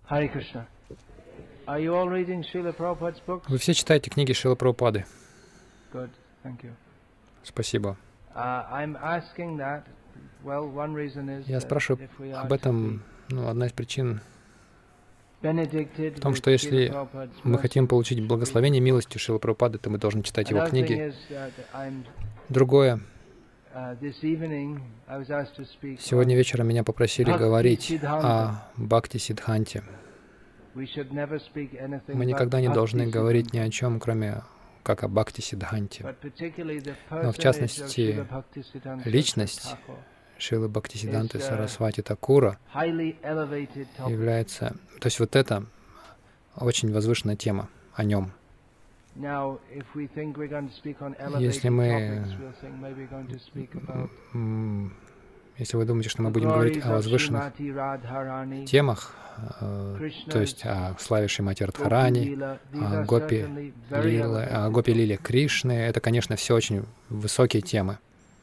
Hare Krishna. Are you all reading Srila Prabhupada's books? Вы все читаете книги Шрилы Прабхупады? Good, thank you. Спасибо. I'm asking that. Well, one reason is Я спрашиваю об этом, одна из причин в том, что если мы хотим получить благословение милостью Шрилы Прабхупады, то мы должны читать его книги. Другое. Сегодня вечером меня попросили говорить о Бхакти-сиддханте. Мы никогда не должны говорить ни о чем, кроме как о Бхакти-сиддханте. Но в частности, личность Шрилы Бхактисиддханты Сарасвати Такура является... То есть вот это очень возвышенная тема о нем. Если вы думаете, что мы будем говорить о возвышенных темах, то есть о славе Шримати Радхарани, о Гопи Лиле Кришны, это, конечно, все очень высокие темы.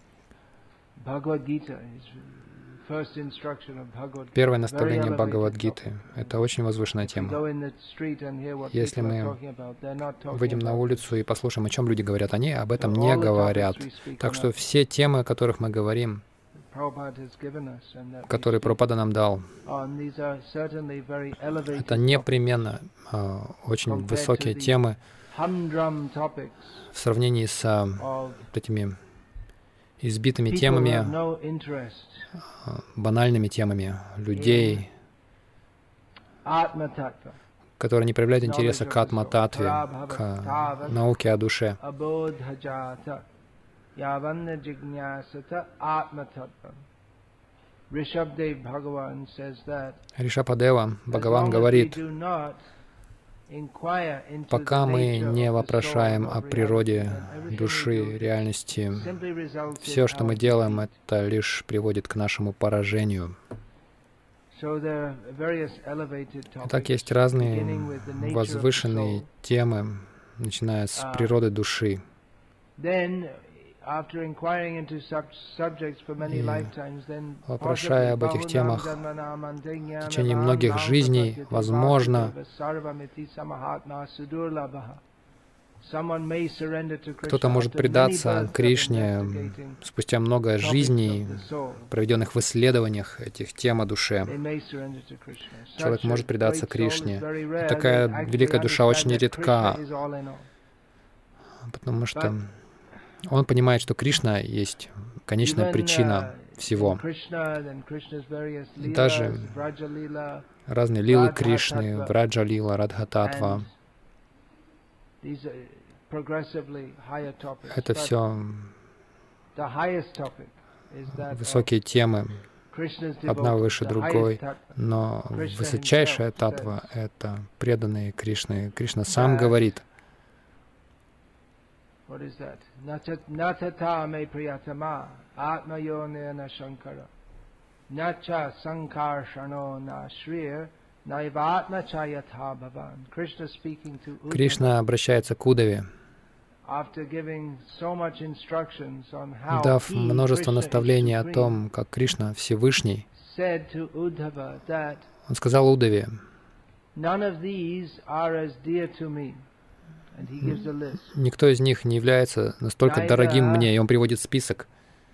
Первое наставление Бхагавад-гиты — это очень возвышенная тема. Если мы выйдем на улицу и послушаем, о чем люди говорят, они об этом не говорят. Так что все темы, о которых мы говорим, которые Прабхупада нам дал, это непременно очень высокие темы в сравнении с этими избитыми темами, банальными темами людей, которые не проявляют интереса к атма-татве, к науке о душе. Ришабхадева Бхагаван говорит: пока мы не вопрошаем о природе души, реальности, все, что мы делаем, это лишь приводит к нашему поражению. Итак, есть разные возвышенные темы, начиная с природы души. Вопрошая об этих темах в течение многих жизней, возможно, кто-то может предаться Кришне спустя много жизней, проведенных в исследованиях этих тем о душе. Человек может предаться Кришне. И такая великая душа очень редка, потому что он понимает, что Кришна есть конечная причина всего. Даже разные лилы Кришны, Враджа-лила, Радха-татва — это все высокие темы, одна выше другой, но высочайшая татва — это преданные Кришны. Кришна сам говорит: Кришна обращается к Удаве, дав множество наставлений о том, как Кришна Всевышний. Он сказал Удаве: никто из них не является настолько дорогим мне, и он приводит список.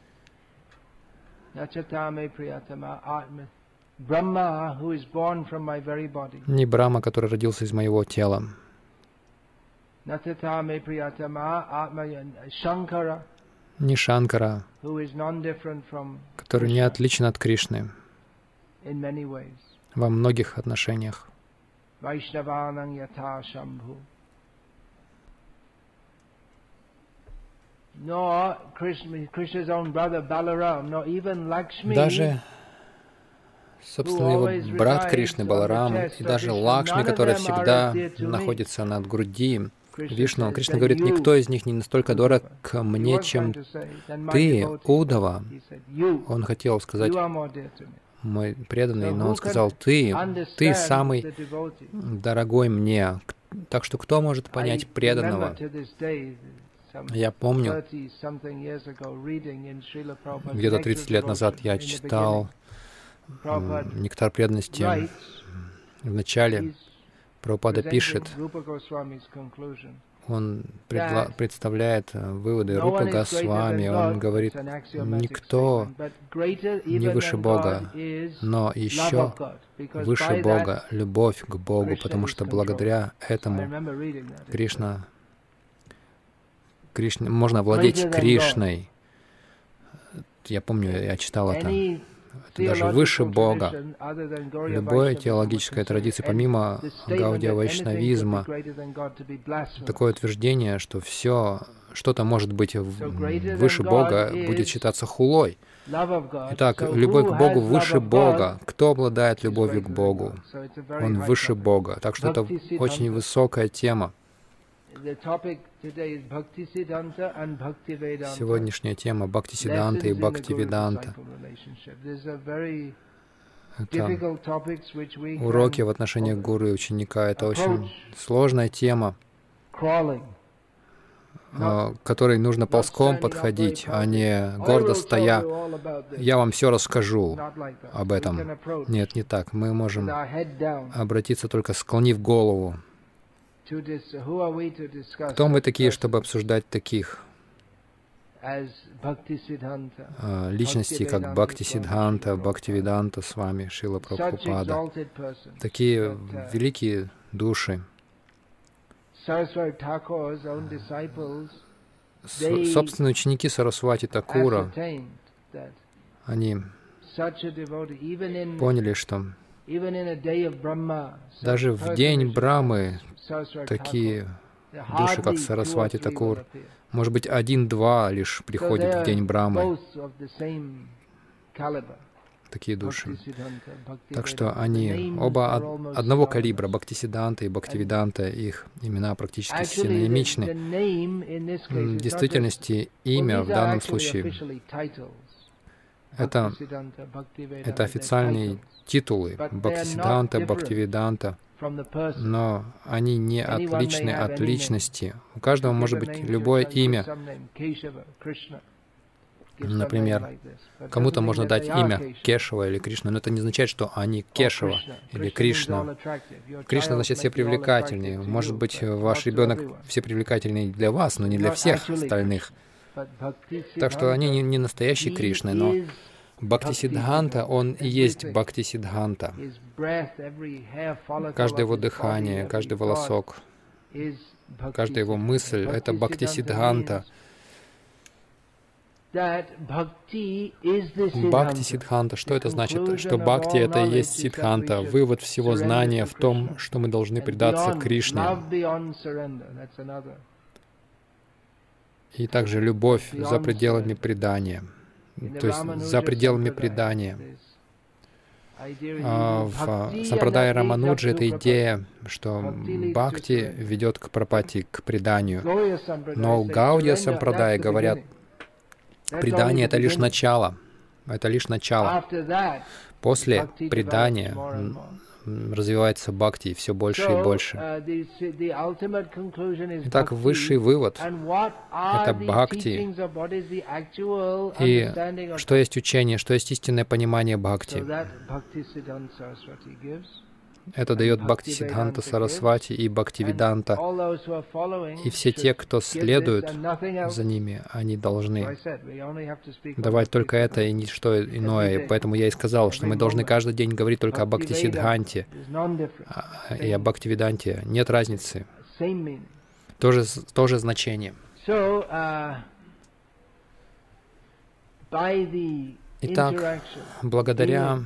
Не Брахма, который родился из моего тела. Не Шанкара, который не отличен от Кришны во многих отношениях. Даже собственно его брат Кришны Баларам и даже Лакшми, которая всегда находится над груди Вишну, Кришна говорит: никто из них не настолько дорог мне, чем ты, Удава. Он хотел сказать: мой преданный, но он сказал: ты самый дорогой мне. Так что кто может понять преданного? Я помню, где-то 30 лет назад я читал «Нектар преданности» Вначале Прабхупада пишет, он представляет выводы Рупы Госвами, он говорит, никто не выше Бога, но еще выше Бога, любовь к Богу, потому что благодаря этому Кришна, можно владеть Кришной. Я помню, я читал это. Это даже выше Бога. Любой теологической традиции, помимо гаудия-вайшнавизма, такое утверждение, что все, что-то может быть выше Бога, будет считаться хулой. Итак, любовь к Богу выше Бога. Кто обладает любовью к Богу? Он выше Бога. Так что это очень высокая тема. Сегодняшняя тема Бхактисиддханта и Бхактивиданта. Это уроки в отношении гуру и ученика. Это очень сложная тема, к которой нужно ползком подходить, а не гордо стоя. Я вам все расскажу об этом. Нет, не так. Мы можем обратиться только склонив голову. Кто мы такие, чтобы обсуждать таких личностей, как Бхактисиддханта, Бхактивиданта с вами, Шрила Прабхупада? Такие великие души. Собственные ученики Сарасвати Такура, они поняли, что даже в день Брамы такие души, как Сарасвати Такур, может быть, 1-2 лишь приходят в день Брамы. Такие души. Так что они оба одного калибра, Бхактисиддханта и Бхактивиданта, их имена практически синонимичны. В действительности имя в данном случае это официальные титулы Бхактисиддханта, Бхактивиданта, но они не отличны от личности. У каждого может быть любое имя. Например, кому-то можно дать имя Кешава или Кришна, но это не означает, что они Кешава или Кришна. Кришна значит все привлекательные. Может быть, ваш ребенок все привлекательный для вас, но не для всех остальных. Так что они не настоящие Кришны, но Бхактисиддханта, он и есть Бхактисиддханта. Каждое его дыхание, каждый волосок, каждая его мысль — это Бхактисиддханта. Бхакти-сиддханта. Что это значит? Что бхакти — это и есть сиддханта, вывод всего знания в том, что мы должны предаться Кришне. И также любовь за пределами предания. То есть за пределами предания. В Сампрадае Рамануджи эта идея, что бхакти ведет к прапати, к преданию. Но в Гаудия Сампрадае говорят, предание — это лишь начало. Это лишь начало. После предания развивается бхакти все больше и больше. Итак, высший вывод — это бхакти. И что есть учение, что есть истинное понимание бхакти? Это дает Бхактисиддханта Сарасвати и Бхактивиданта. И все те, кто следует за ними, они должны давать только это и ничто иное. И поэтому я и сказал, что мы должны каждый день говорить только о Бхактисиддханте и о Бхактивиданте. Нет разницы. То же значение. Итак, благодаря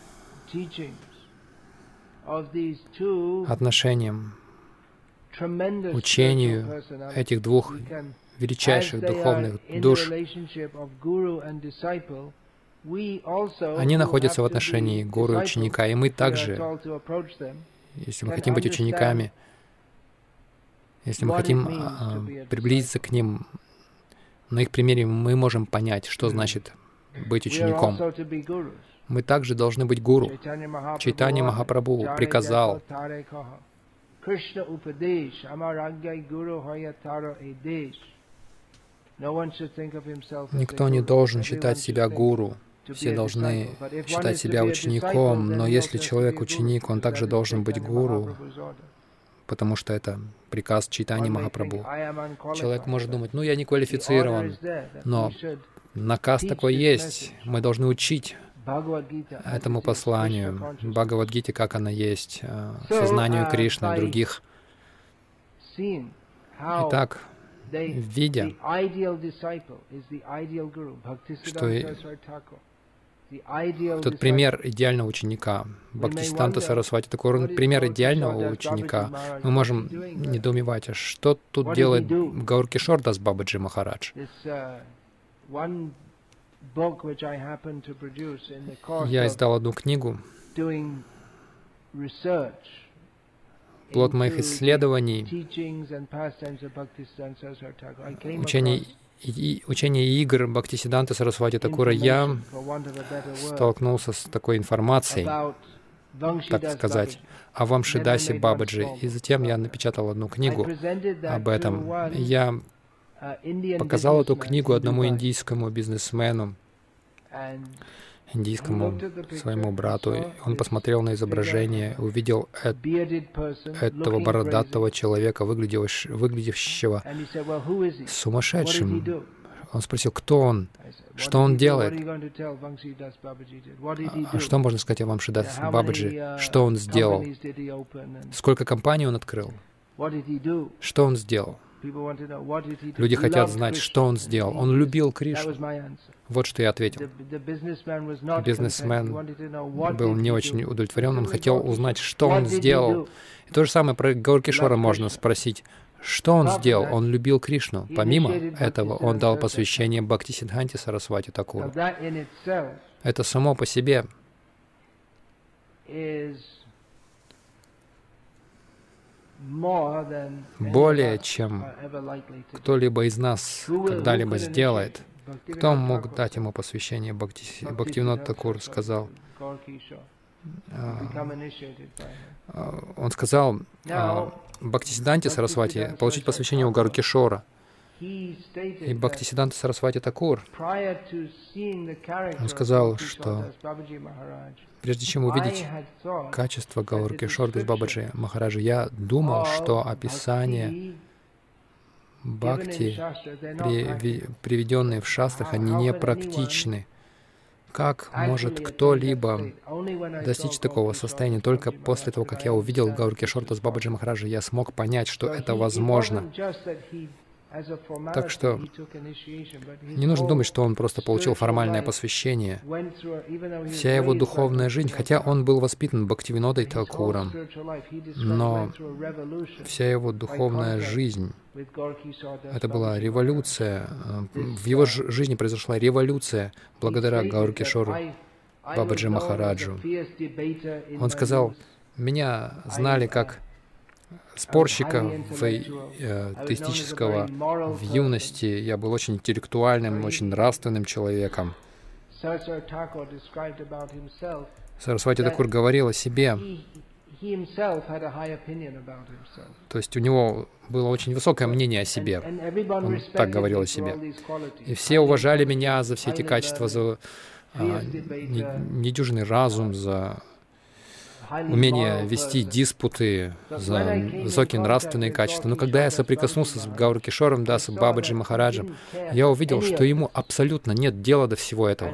отношениям, учению этих двух величайших духовных душ, они находятся в отношении гуру и ученика, и мы также, если мы хотим быть учениками, если мы хотим приблизиться к ним, на их примере мы можем понять, что значит быть учеником. Мы также должны быть гуру. Чайтанья Махапрабху приказал: никто не должен считать себя гуру. все должны считать себя учеником, но если человек ученик, он также должен быть гуру, потому что это приказ Чайтаньи Махапрабху. Человек может думать, ну, я не квалифицирован, но наказ такой есть, мы должны учить этому посланию, Бхагавад-гите, как она есть, сознанию Кришны, других. Итак, видя, что тот пример идеального ученика, Бхактисиддханта Сарасвати Такур, он пример идеального ученика, мы можем недоумевать, а что тут делает Гауркишор Дас Бабаджи Махарадж? Я издал одну книгу, плод моих исследований, учения и игр Бхактисиддханты Сарасвати Такура, я столкнулся с такой информацией, так сказать, о Вамшидасе Бабаджи. И затем я напечатал одну книгу об этом. Я показал эту книгу одному индийскому бизнесмену, индийскому своему брату. Он посмотрел на изображение, увидел этого бородатого человека, выглядевшего сумасшедшим. Он спросил, кто он, что он делает. А что можно сказать о Вамшидас Бабаджи? Что он сделал? Сколько компаний он открыл? Что он сделал? Люди хотят знать, что он сделал. Он любил Кришну. Вот что я ответил. Бизнесмен был не очень удовлетворен. Он хотел узнать, что он сделал. И то же самое про Гауркишора можно спросить. Что он сделал? Он любил Кришну. Помимо этого, он дал посвящение Бхактисиддханте Сарасвати Такуру. Это само по себе более, чем кто-либо из нас когда-либо сделает. Кто мог дать ему посвящение? Бхактивинод Такур сказал. Он сказал Бхактисиддханте Сарасвати получить посвящение у Гауркишора. И Бхактисиддханта Сарасвати Такур, он сказал, что прежде чем увидеть качество Гауркишора Дас Бабаджи Махараджа, я думал, что описания бхакти, приведенные в шастрах, они не практичны. Как может кто-либо достичь такого состояния? Только после того, как я увидел Гауркишора Дас Бабаджи Махараджа, я смог понять, что это возможно. Так что не нужно думать, что он просто получил формальное посвящение. Вся его духовная жизнь, хотя он был воспитан Бхактивинодой Такуром, но вся его духовная жизнь, это была революция. В его жизни произошла революция благодаря Гауркишору Бабаджи Махараджу. Он сказал, меня знали как спорщика теистического в юности. Я был очень интеллектуальным, очень нравственным человеком. Сарасвати Такур говорил о себе. То есть у него было очень высокое мнение о себе. Он так говорил о себе. И все уважали меня за все эти качества, за недюжинный разум, за умение вести диспуты, за высокие нравственные качества. Но когда я соприкоснулся с Гауркишором Дас Бабаджи Махараджем, я увидел, что ему абсолютно нет дела до всего этого.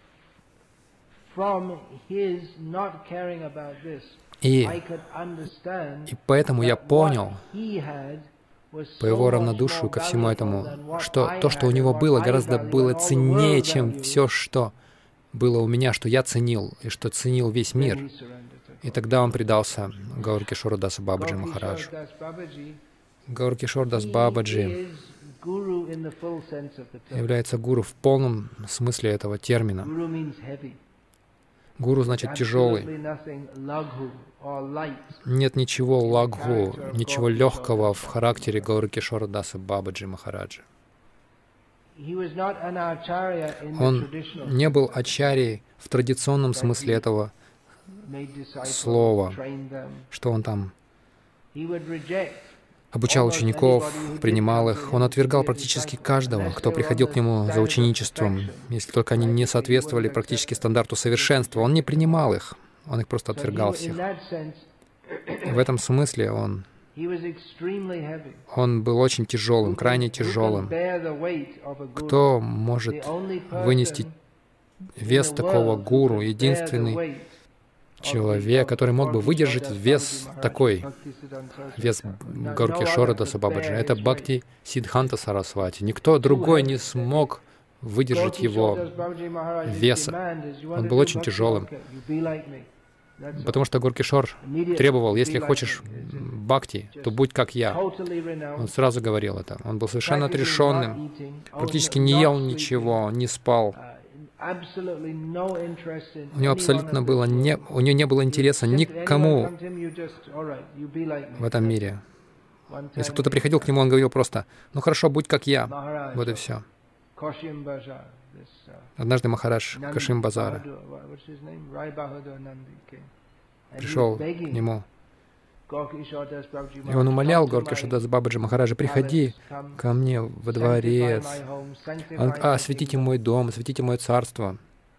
И поэтому я понял по его равнодушию ко всему этому, что то, что у него было, гораздо было ценнее, чем все, что было у меня, что я ценил, и что ценил весь мир. И тогда он предался Гауркишору Дасу Бабаджи Махараджу. Гауркишор Дас Бабаджи является гуру в полном смысле этого термина. Гуру значит тяжелый. Нет ничего лагху, ничего легкого в характере Гауркишора Даса Бабаджи Махараджа. Он не был ачарьей в традиционном смысле этого слова, что он там обучал учеников, принимал их. Он отвергал практически каждого, кто приходил к нему за ученичеством, если только они не соответствовали практически стандарту совершенства. Он не принимал их, он их просто отвергал всех. В этом смысле он был очень тяжелым, крайне тяжелым. Кто может вынести вес такого гуру? Единственный человек, который мог бы выдержать вес такой, вес Гауркишора Даса Бабаджи, это Бхакти Сиддханта Сарасвати. Никто другой не смог выдержать его веса. Он был очень тяжелым. Потому что Гауркишор требовал, если хочешь бхакти, то будь как я. Он сразу говорил это. Он был совершенно отрешенным, практически не ел ничего, не спал. У него абсолютно было у него не было интереса никому в этом мире. Если кто-то приходил к нему, он говорил просто: «Ну хорошо, будь как я». Вот и все. Однажды Махарадж Кашим Базара пришел к нему, и он умолял Гауркишора Дас Бабаджи: «Махараджа, приходи ко мне во дворец, осветите мой дом, осветите мое царство.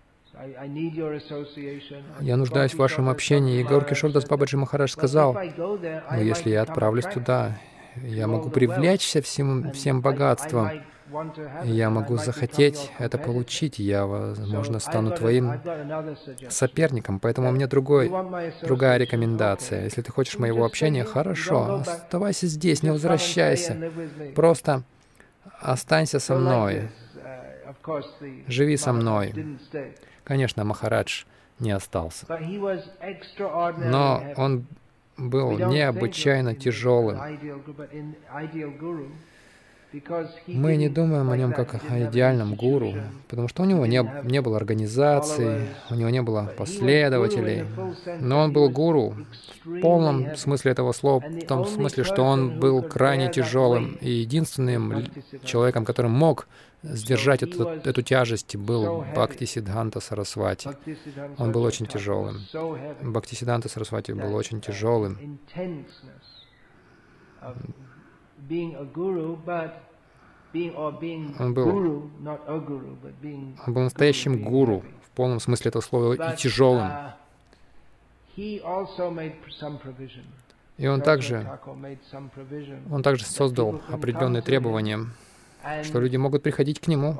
Я нуждаюсь в вашем общении». И Гауркишора Дас Бабаджи Махарадж сказал: «Ну, если я отправлюсь туда, я могу привлечься всем богатством, я могу захотеть это получить, я, возможно, стану твоим соперником, поэтому у меня другая рекомендация. Если ты хочешь моего общения, хорошо, оставайся здесь, не возвращайся, просто останься со мной, живи со мной». Конечно, Махарадж не остался, но он был необычайно тяжелым. Мы не думаем о нем как о идеальном гуру, потому что у него не было организации, у него не было последователей. Но он был гуру в полном смысле этого слова, в том смысле, что он был крайне тяжелым. И единственным человеком, который мог сдержать эту тяжесть, был Бхактисиддханта Сарасвати. Он был очень тяжелым. Бхактисиддханта Сарасвати был очень тяжелым. Он был настоящим гуру в полном смысле этого слова и тяжелым. И он также создал определенные требования, что люди могут приходить к нему.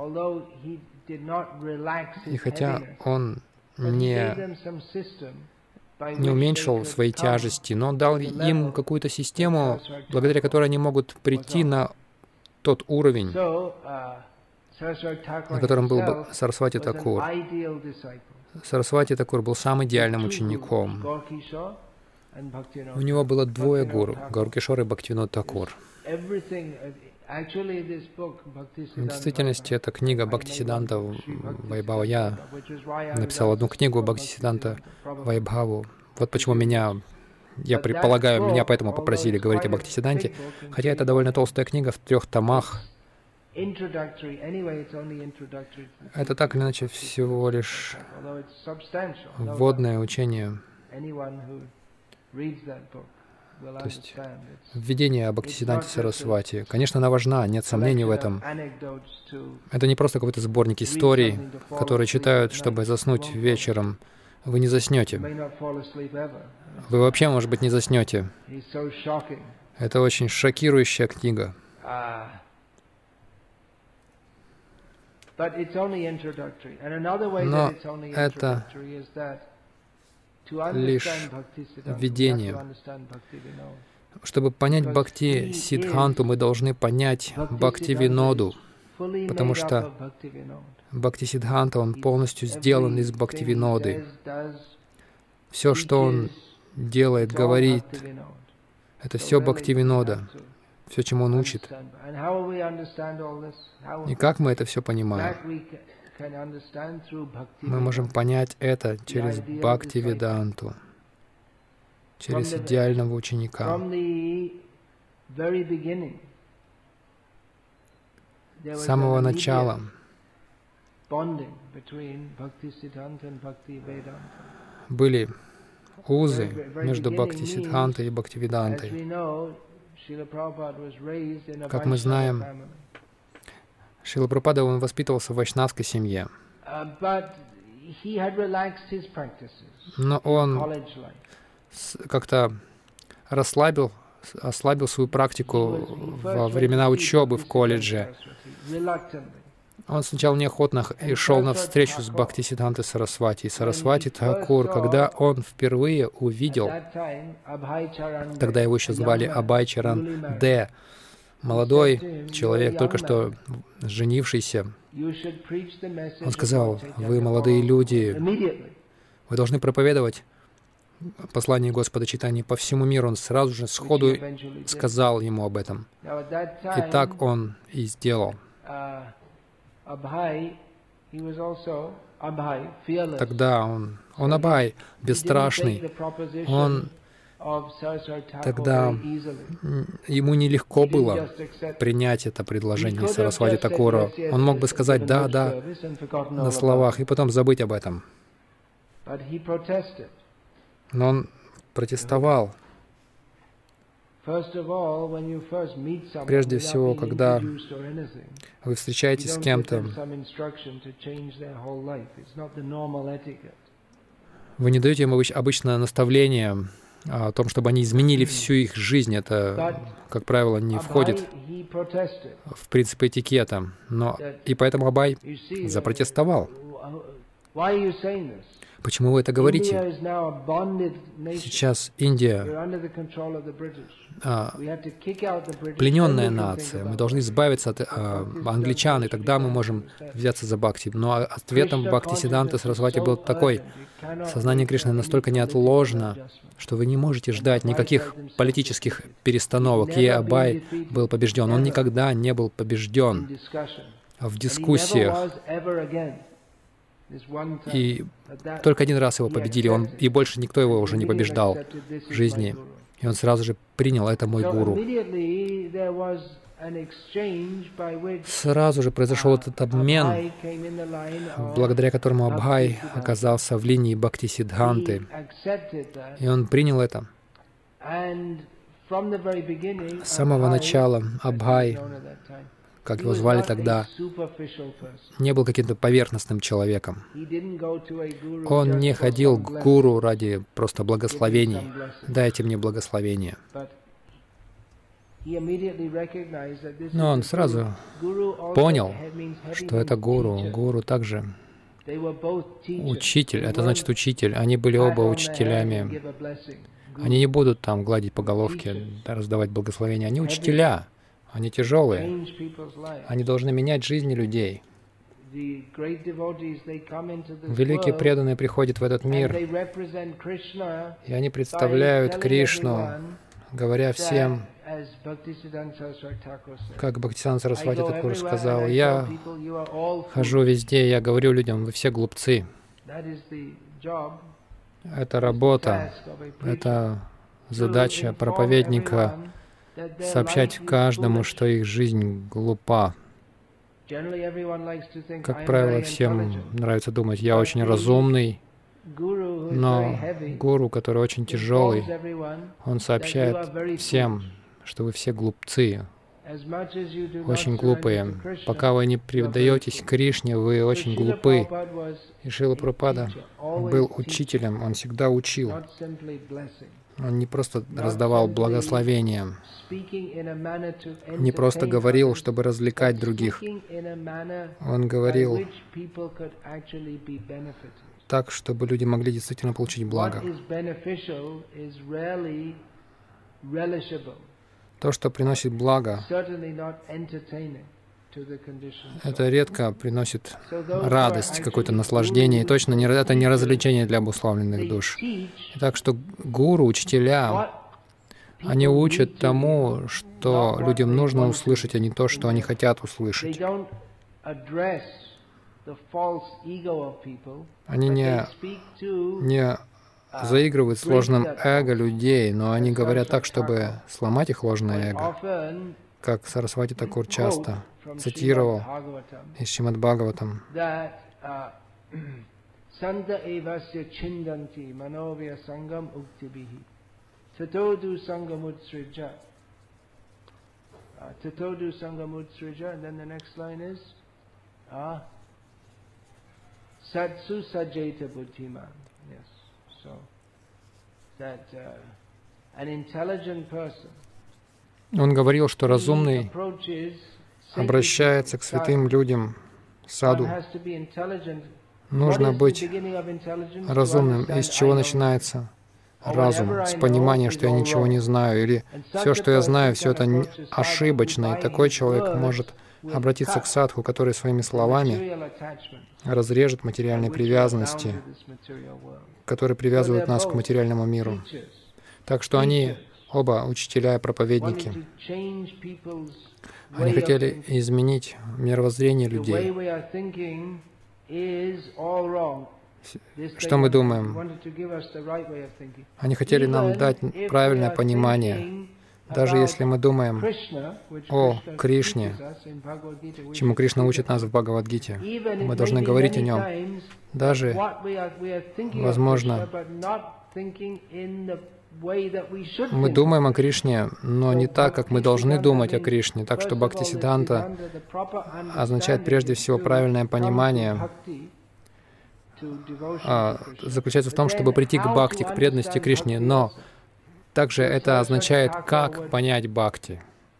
И хотя он не уменьшил свои тяжести, но дал им какую-то систему, благодаря которой они могут прийти на тот уровень, на котором был Сарасвати Такур. Сарасвати Такур был самым идеальным учеником. У него было двое гуру — Гауркишор и Бхактивинод Такур. В действительности, эта книга Бхактисиддханта Вайбхава. Я написал одну книгу Бхактисиддханта Вайбхаву. Вот почему я предполагаю, меня поэтому попросили говорить о Бхактисиддханте, хотя это довольно толстая книга в 3 томах. Это так или иначе всего лишь вводное учение, то есть введение о Бхактисиддханте Сарасвати. Конечно, она важна, нет сомнений в этом. Это не просто какой-то сборник историй, которые читают, чтобы заснуть вечером. Вы не заснете. Вы вообще, может быть, не заснете. Это очень шокирующая книга. Но это лишь введение. Чтобы понять Бхакти-Сиддханту, мы должны понять Бхактивиноду, потому что Бхакти-Сиддханта, он полностью сделан из Бхактивиноды. Все, что он делает, говорит, это все Бхактивинода, все, чему он учит. И как мы это все понимаем? Мы можем понять это через Бхактивиданту, через идеального ученика. С самого начала были узы между Бхактисиддхантой и Бхактивидантой. Как мы знаем, Шрила Прабхупада, он воспитывался в вайшнавской семье. Но он как-то ослабил свою практику во времена учебы в колледже. Он сначала неохотно и шел на встречу с Бхактисиддхантой Сарасвати. И Сарасвати Тхакур, когда он впервые увидел, тогда его еще звали Абхай Чаран Д., молодой человек, только что женившийся, он сказал: «Вы, молодые люди, вы должны проповедовать послание Господа Чайтаньи по всему миру». Он сразу же сходу сказал ему об этом. И так он и сделал. Тогда он Абхай, бесстрашный, тогда ему нелегко было принять это предложение Сарасвати Такура. Он мог бы сказать «да, да» на словах и потом забыть об этом. Но он протестовал. Прежде всего, когда вы встречаетесь с кем-то, вы не даете им обычно наставление о том, чтобы они изменили всю их жизнь. Это, как правило, не входит в принцип этикета. И поэтому Абхай запротестовал. Почему вы это говорите? Сейчас Индия плененная нация. Мы должны избавиться от англичан, и тогда мы можем взяться за бхакти. Но ответом Бхактисиддханты Сарасвати был такой: сознание Кришны настолько неотложно, что вы не можете ждать никаких политических перестановок. И Абхай был побежден. Он никогда не был побежден в дискуссиях. И только один раз его победили, и больше никто его уже не побеждал в жизни. И он сразу же принял: это мой гуру. Сразу же произошел этот обмен, благодаря которому Абхай оказался в линии Бхактисиддханты. И он принял это. С самого начала Абхай, как его звали тогда, не был каким-то поверхностным человеком. Он не ходил к гуру ради просто благословений. «Дайте мне благословение». Но он сразу понял, что это гуру. Гуру также учитель. Это значит учитель. Они были оба учителями. Они не будут там гладить по головке, раздавать благословения. Они учителя. Они тяжелые. Они должны менять жизни людей. Великие преданные приходят в этот мир, и они представляют Кришну, говоря всем, как Бхактисиддханта Сарасвати Такур сказал: «Я хожу везде, я говорю людям, вы все глупцы». Это работа, это задача проповедника — сообщать каждому, что их жизнь глупа. Как правило, всем нравится думать: я очень разумный, но гуру, который очень тяжелый, он сообщает всем, что вы все глупцы, очень глупые. Пока вы не предаетесь Кришне, вы очень глупы. И Шрила Прабхупада был учителем, он всегда учил. Он не просто раздавал благословения, не просто говорил, чтобы развлекать других. Он говорил так, чтобы люди могли действительно получить благо. То, что приносит благо, это редко приносит радость, какое-то наслаждение, и точно это не развлечение для обусловленных душ. Так что гуру, учителя, они учат тому, что людям нужно услышать, а не то, что они хотят услышать. Они не заигрывают с ложным эго людей, но они говорят так, чтобы сломать их ложное эго, как Сарасвати Такур часто цитировал из Шримад Бхагаватам. Tatodu Sangamutsrija, and then the next line is Satsu Sajeta Buddhiman. Yes, so that an intelligent person. Он говорил, что разумный обращается к святым людям, саду. Нужно быть разумным. Из чего начинается разум? С понимания, что я ничего не знаю, или все, что я знаю, все это ошибочно, и такой человек может обратиться к садху, который своими словами разрежет материальные привязанности, которые привязывают нас к материальному миру. Так что они оба учителя и проповедники. Они хотели изменить мировоззрение людей. Что мы думаем? Они хотели нам дать правильное понимание. Даже если мы думаем о Кришне, чему Кришна учит нас в Бхагавад-гите, мы должны говорить о нем. Даже, возможно, мы думаем о Кришне, но не так, как мы должны думать о Кришне. Так что Бхактисиддханта означает прежде всего правильное понимание. Заключается в том, чтобы прийти к бхакти, к преданности Кришне, но также это означает, как понять бхакти.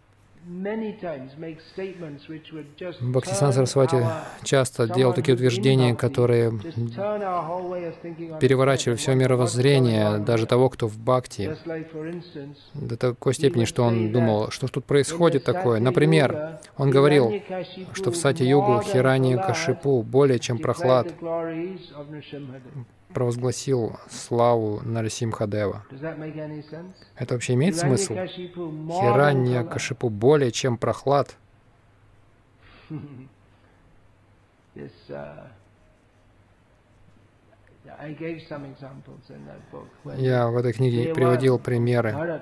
Бхактисиддханта Сарасвати часто делал такие утверждения, которые переворачивали все мировоззрение, даже того, кто в бхакти, до такой степени, что он думал, что тут происходит такое. Например, он говорил, что в Сати-югу Хираньякашипу более чем Прохлад провозгласил славу Нарасимхадева. Это вообще имеет смысл? Хираньякашипу более чем Прохлад. Я в этой книге приводил примеры.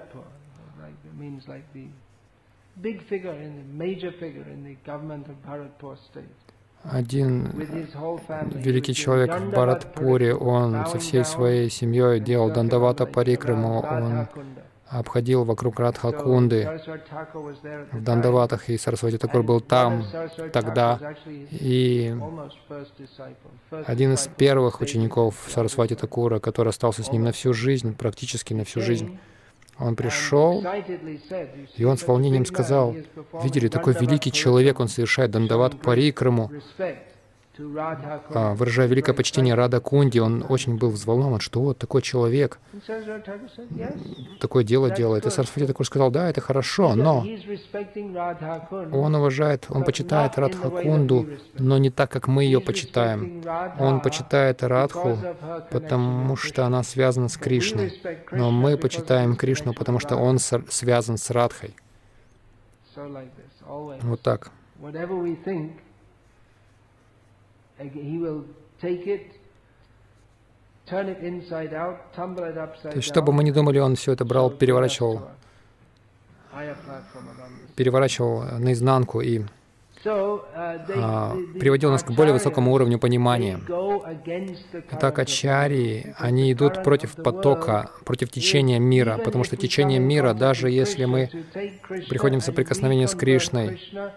Один великий человек в Бхаратпуре, он со всей своей семьей делал Дандавата Парикраму, он обходил вокруг Радха-кунды в Дандаватах, и Сарасвати Такур был там тогда. И один из первых учеников Сарасвати Такура, который остался с ним на всю жизнь, практически на всю жизнь, он пришел, и он с волнением сказал: «Видели, такой великий человек, он совершает Дандават Парикраму, выражая великое почтение Радха-кунди». Он очень был взволнован, что вот такой человек такое дело делает. И Сарасвати Такур сказал: «Да, это хорошо, но он уважает, он почитает Радха-кунду, но не так, как мы ее почитаем. Он почитает Радху, потому что она связана с Кришной, но мы почитаем Кришну, потому что он связан с Радхой». Вот так. То есть, что бы мы ни думали, он все это брал, переворачивал наизнанку и приводил нас к более высокому уровню понимания. Итак, ачарьи, они идут против потока, против течения мира, потому что течение мира, даже если мы приходим в соприкосновение с Кришной,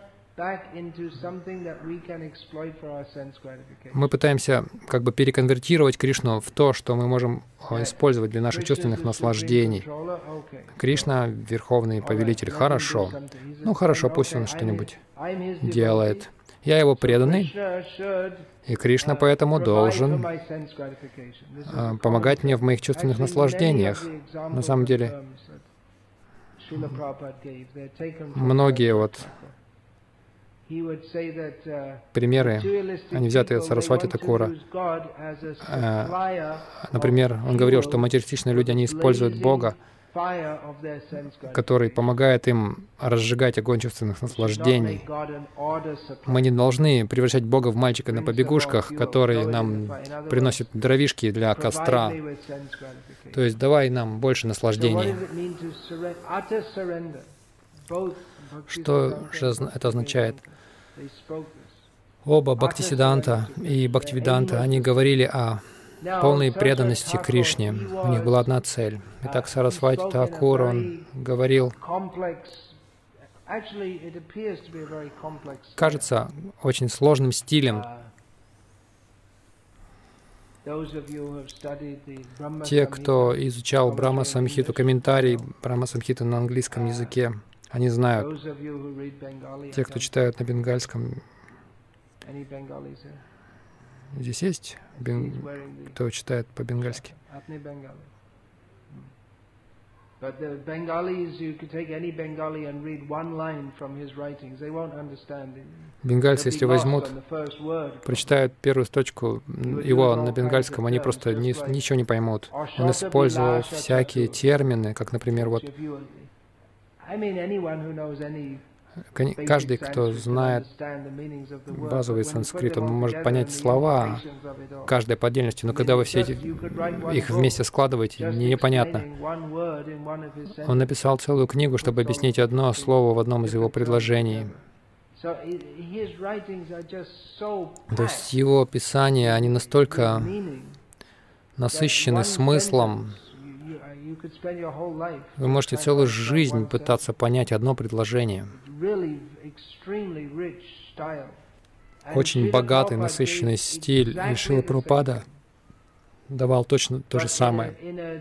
мы пытаемся как бы переконвертировать Кришну в то, что мы можем использовать для наших чувственных наслаждений. Кришна — верховный повелитель. Хорошо. Ну хорошо, пусть он что-нибудь делает. Я его преданный, и Кришна поэтому должен помогать мне в моих чувственных наслаждениях. На самом деле, многие примеры, они взяты от Сарасвати Такура. Например, он говорил, что материалистичные люди, они используют Бога, который помогает им разжигать огонь чувственных наслаждений. Мы не должны превращать Бога в мальчика на побегушках, который нам приносит дровишки для костра. То есть давай нам больше наслаждений. Что же это означает? Оба Бхактисиддханта и Бхактивиданта, они говорили о полной преданности Кришне. У них была одна цель. Итак, Сарасвати Такур, он говорил кажется очень сложным стилем. Те, кто изучал Брахма-самхиту, комментарий Брахма-самхиты на английском языке, они знают. Те, кто читают на бенгальском. Здесь есть кто читает по-бенгальски? Бенгальцы, если возьмут, прочитают первую строчку его на бенгальском, они просто ничего не поймут. Он использовал всякие термины, как, например, вот каждый, кто знает базовый санскрит, он может понять слова, каждая по отдельности, но когда вы все их вместе складываете, непонятно. Он написал целую книгу, чтобы объяснить одно слово в одном из его предложений. То есть его писания, они настолько насыщены смыслом. Вы можете целую жизнь пытаться понять одно предложение. Очень богатый, насыщенный стиль. И Шрила Прабхупада давал точно то же самое.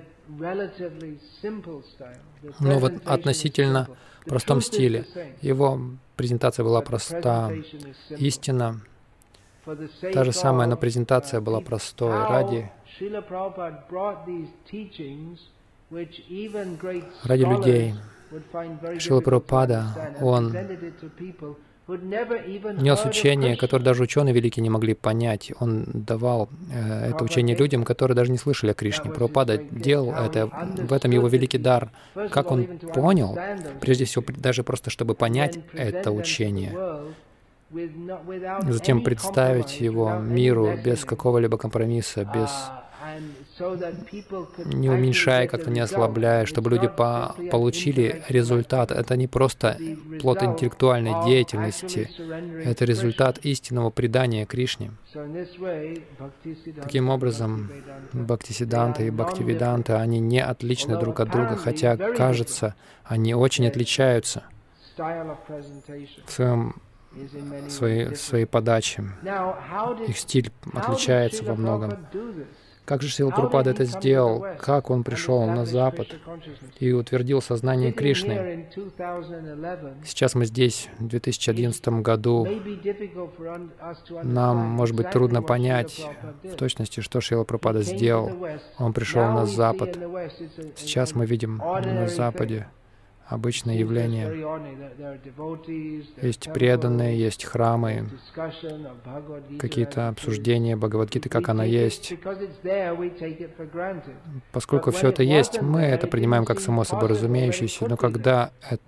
Но в относительно простом стиле. Его презентация была проста. Истина. Та же самая, но презентация была простой. Ради людей. Шрила Прабхупада, он нес учение, которое даже ученые великие не могли понять. Он давал это учение людям, которые даже не слышали о Кришне. Прабхупада делал это, в этом его великий дар. Как он понял, прежде всего, даже просто чтобы понять это учение, затем представить его миру без какого-либо компромисса, без не уменьшая, как-то не ослабляя, чтобы люди получили результат. Это не просто плод интеллектуальной деятельности, это результат истинного предания Кришне. Таким образом, Бхактисиддханта и Бхактивиданта, они не отличны друг от друга, хотя, кажется, они очень отличаются в своей подаче. Их стиль отличается во многом. Как же Шрила Прабхупада это сделал? Как он пришел на Запад и утвердил сознание Кришны? Сейчас мы здесь, в 2011 году. Нам, может быть, трудно понять в точности, что Шрила Прабхупада сделал. Он пришел на Запад. Сейчас мы видим на Западе обычное явление. Есть преданные, есть храмы, какие-то обсуждения Бхагавад-гиты, как она есть. Поскольку все это есть, мы это принимаем как само собой разумеющееся, но когда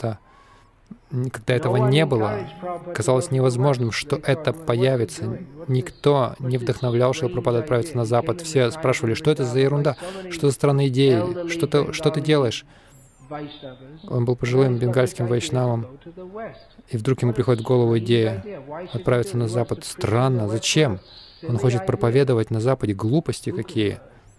этого не было, казалось невозможным, что это появится. Никто не вдохновлял Шрилу Прабхупаду отправиться на Запад. Все спрашивали, что это за ерунда, что за странные идеи, что ты делаешь? Он был пожилым бенгальским вайшнавом, и вдруг ему приходит в голову идея отправиться на Запад. Странно, зачем? Он хочет проповедовать на Западе, глупости какие.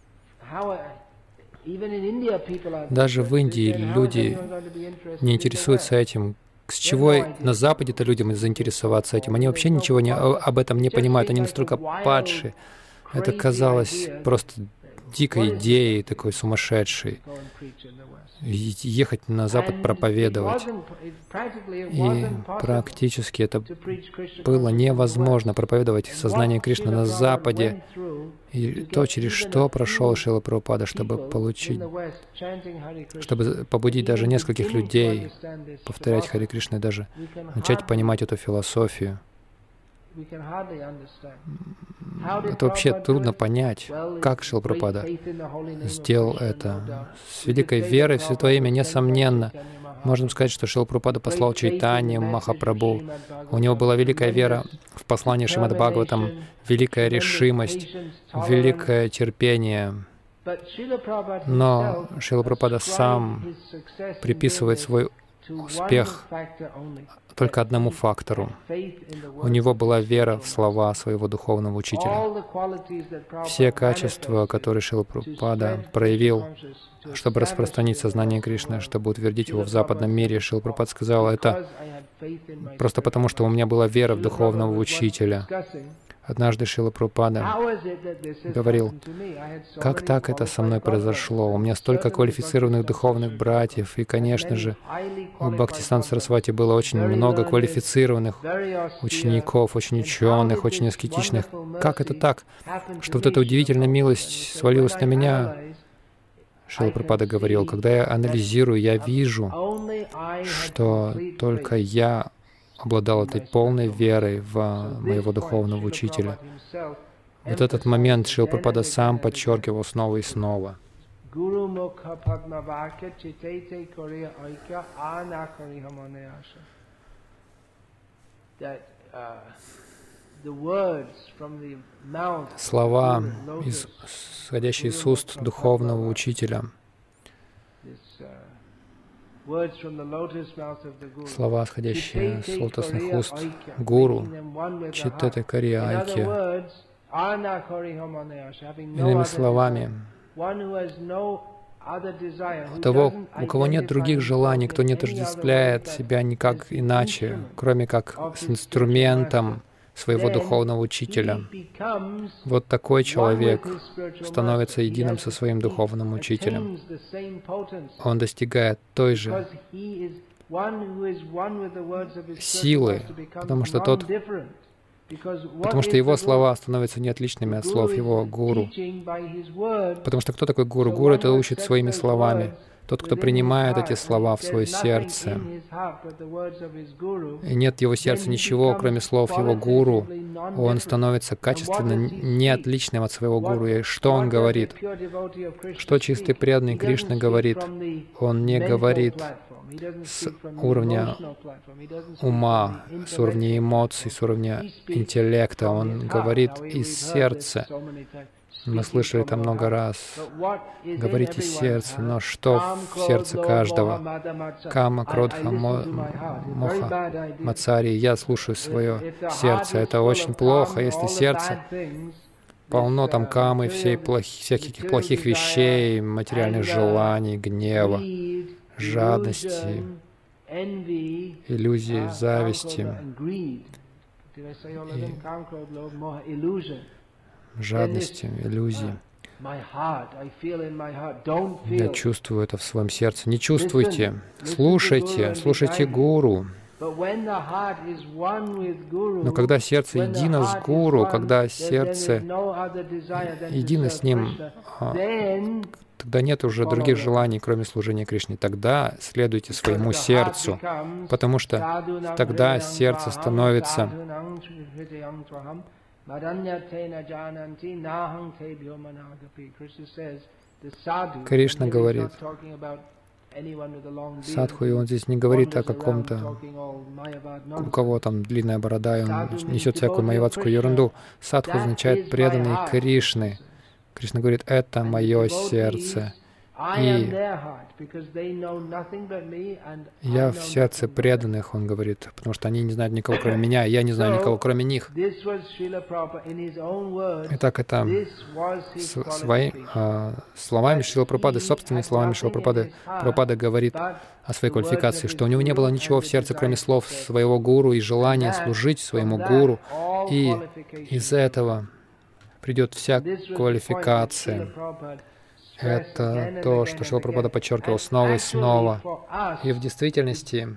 Даже в Индии люди не интересуются этим. С чего на Западе-то людям заинтересоваться этим? Они вообще ничего об этом не понимают, они настолько падшие. Это казалось просто дикой идеей, такой сумасшедшей. Ехать на Запад проповедовать. И практически это было невозможно проповедовать сознание Кришны на Западе. И то, через что прошел Шрила Прабхупада, чтобы побудить даже нескольких людей повторять Харе Кришна и даже начать понимать эту философию. Это вообще трудно понять, как Шрила Прабхупада сделал это. С великой верой в Святое Имя, несомненно, можем сказать, что Шрила Прабхупада послал Чайтанью Махапрабху. У него была великая вера в послание Шримад Бхагаватам, великая решимость, великое терпение. Но Шрила Прабхупада сам приписывает свой успех только одному фактору. У него была вера в слова своего духовного учителя. Все качества, которые Шрила Прабхупада проявил, чтобы распространить сознание Кришны, чтобы утвердить его в западном мире, Шрила Прабхупада сказал, это просто потому, что у меня была вера в духовного учителя. Однажды Шрила Прабхупада говорил, как так это со мной произошло? У меня столько квалифицированных духовных братьев, и, конечно же, у Бхактисиданта Сарасвати было очень много квалифицированных учеников, очень ученых, очень аскетичных. Как это так, что вот эта удивительная милость свалилась на меня? Шрила Прабхупада говорил, когда я анализирую, я вижу, что только я обладал этой полной верой в моего духовного учителя. Вот этот момент Шрила Прабхупада сам подчеркивал снова и снова. Слова, исходящие из уст духовного учителя, слова, исходящие с лотосных уст Гуру, Читтете Кария Айки. Иными словами, у того, у кого нет других желаний, кто не отождествляет себя никак иначе, кроме как с инструментом своего духовного учителя. Вот такой человек становится единым со своим духовным учителем. Он достигает той же силы, потому что его слова становятся неотличными от слов его гуру. Потому что кто такой гуру? Гуру это учит своими словами. Тот, кто принимает эти слова в свое сердце, и нет в его сердце ничего, кроме слов его гуру, он становится качественно неотличным от своего гуру. И что он говорит? Что чистый преданный Кришна говорит? Он не говорит с уровня ума, с уровня эмоций, с уровня интеллекта. Он говорит из сердца. Мы слышали это много раз. Говорите сердце, но что в сердце каждого? Кама, Кродха, Моха, Мацари. Я слушаю свое сердце. Это очень плохо, если сердце полно там камы, всяких плохих вещей, материальных желаний, гнева, жадности, иллюзии, зависти. Жадности, иллюзий. Я чувствую это в своем сердце. Не чувствуйте. Слушайте Гуру. Но когда сердце едино с Гуру, когда сердце едино с Ним, тогда нет уже других желаний, кроме служения Кришне. Тогда следуйте своему сердцу, потому что тогда сердце становится Кришна говорит, садху, и он здесь не говорит о каком-то, у кого там длинная борода, и он несет всякую майявадскую ерунду. Садху означает преданный Кришны. Кришна говорит, это мое сердце. И я в сердце преданных, он говорит, потому что они не знают никого, кроме меня, и я не знаю никого, кроме них. Итак, это словами Шрила Прабхупады, собственными словами Шрила Прабхупады, Прабхупада говорит о своей квалификации, что у него не было ничего в сердце, кроме слов своего гуру и желания служить своему гуру, и из этого придет вся квалификация. Это то, что Шрила Прабхупада подчеркивал снова и снова. И в действительности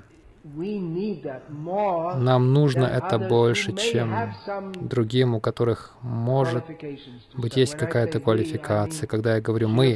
нам нужно это больше, чем другим, у которых, может быть, есть какая-то квалификация. Когда я говорю «мы»,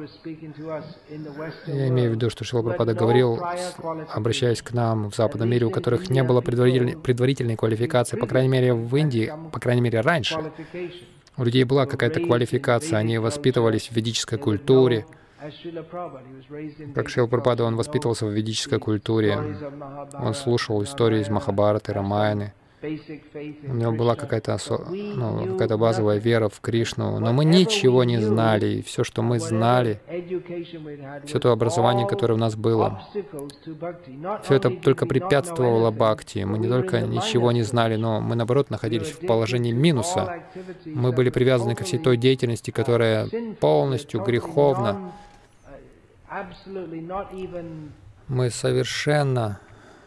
я имею в виду, что Шрила Прабхупада говорил, обращаясь к нам в западном мире, у которых не было предварительной квалификации, по крайней мере, в Индии, по крайней мере, раньше. У людей была какая-то квалификация, они воспитывались в ведической культуре. Как Шрила Прабхупада, он воспитывался в ведической культуре. Он слушал истории из Махабхараты, Рамаяны. У него была какая-то какая-то базовая вера в Кришну, но мы ничего не знали, и все, что мы знали, все то образование, которое у нас было, все это только препятствовало бхакти. Мы не только ничего не знали, но мы, наоборот, находились в положении минуса. Мы были привязаны ко всей той деятельности, которая полностью греховна. Мы совершенно...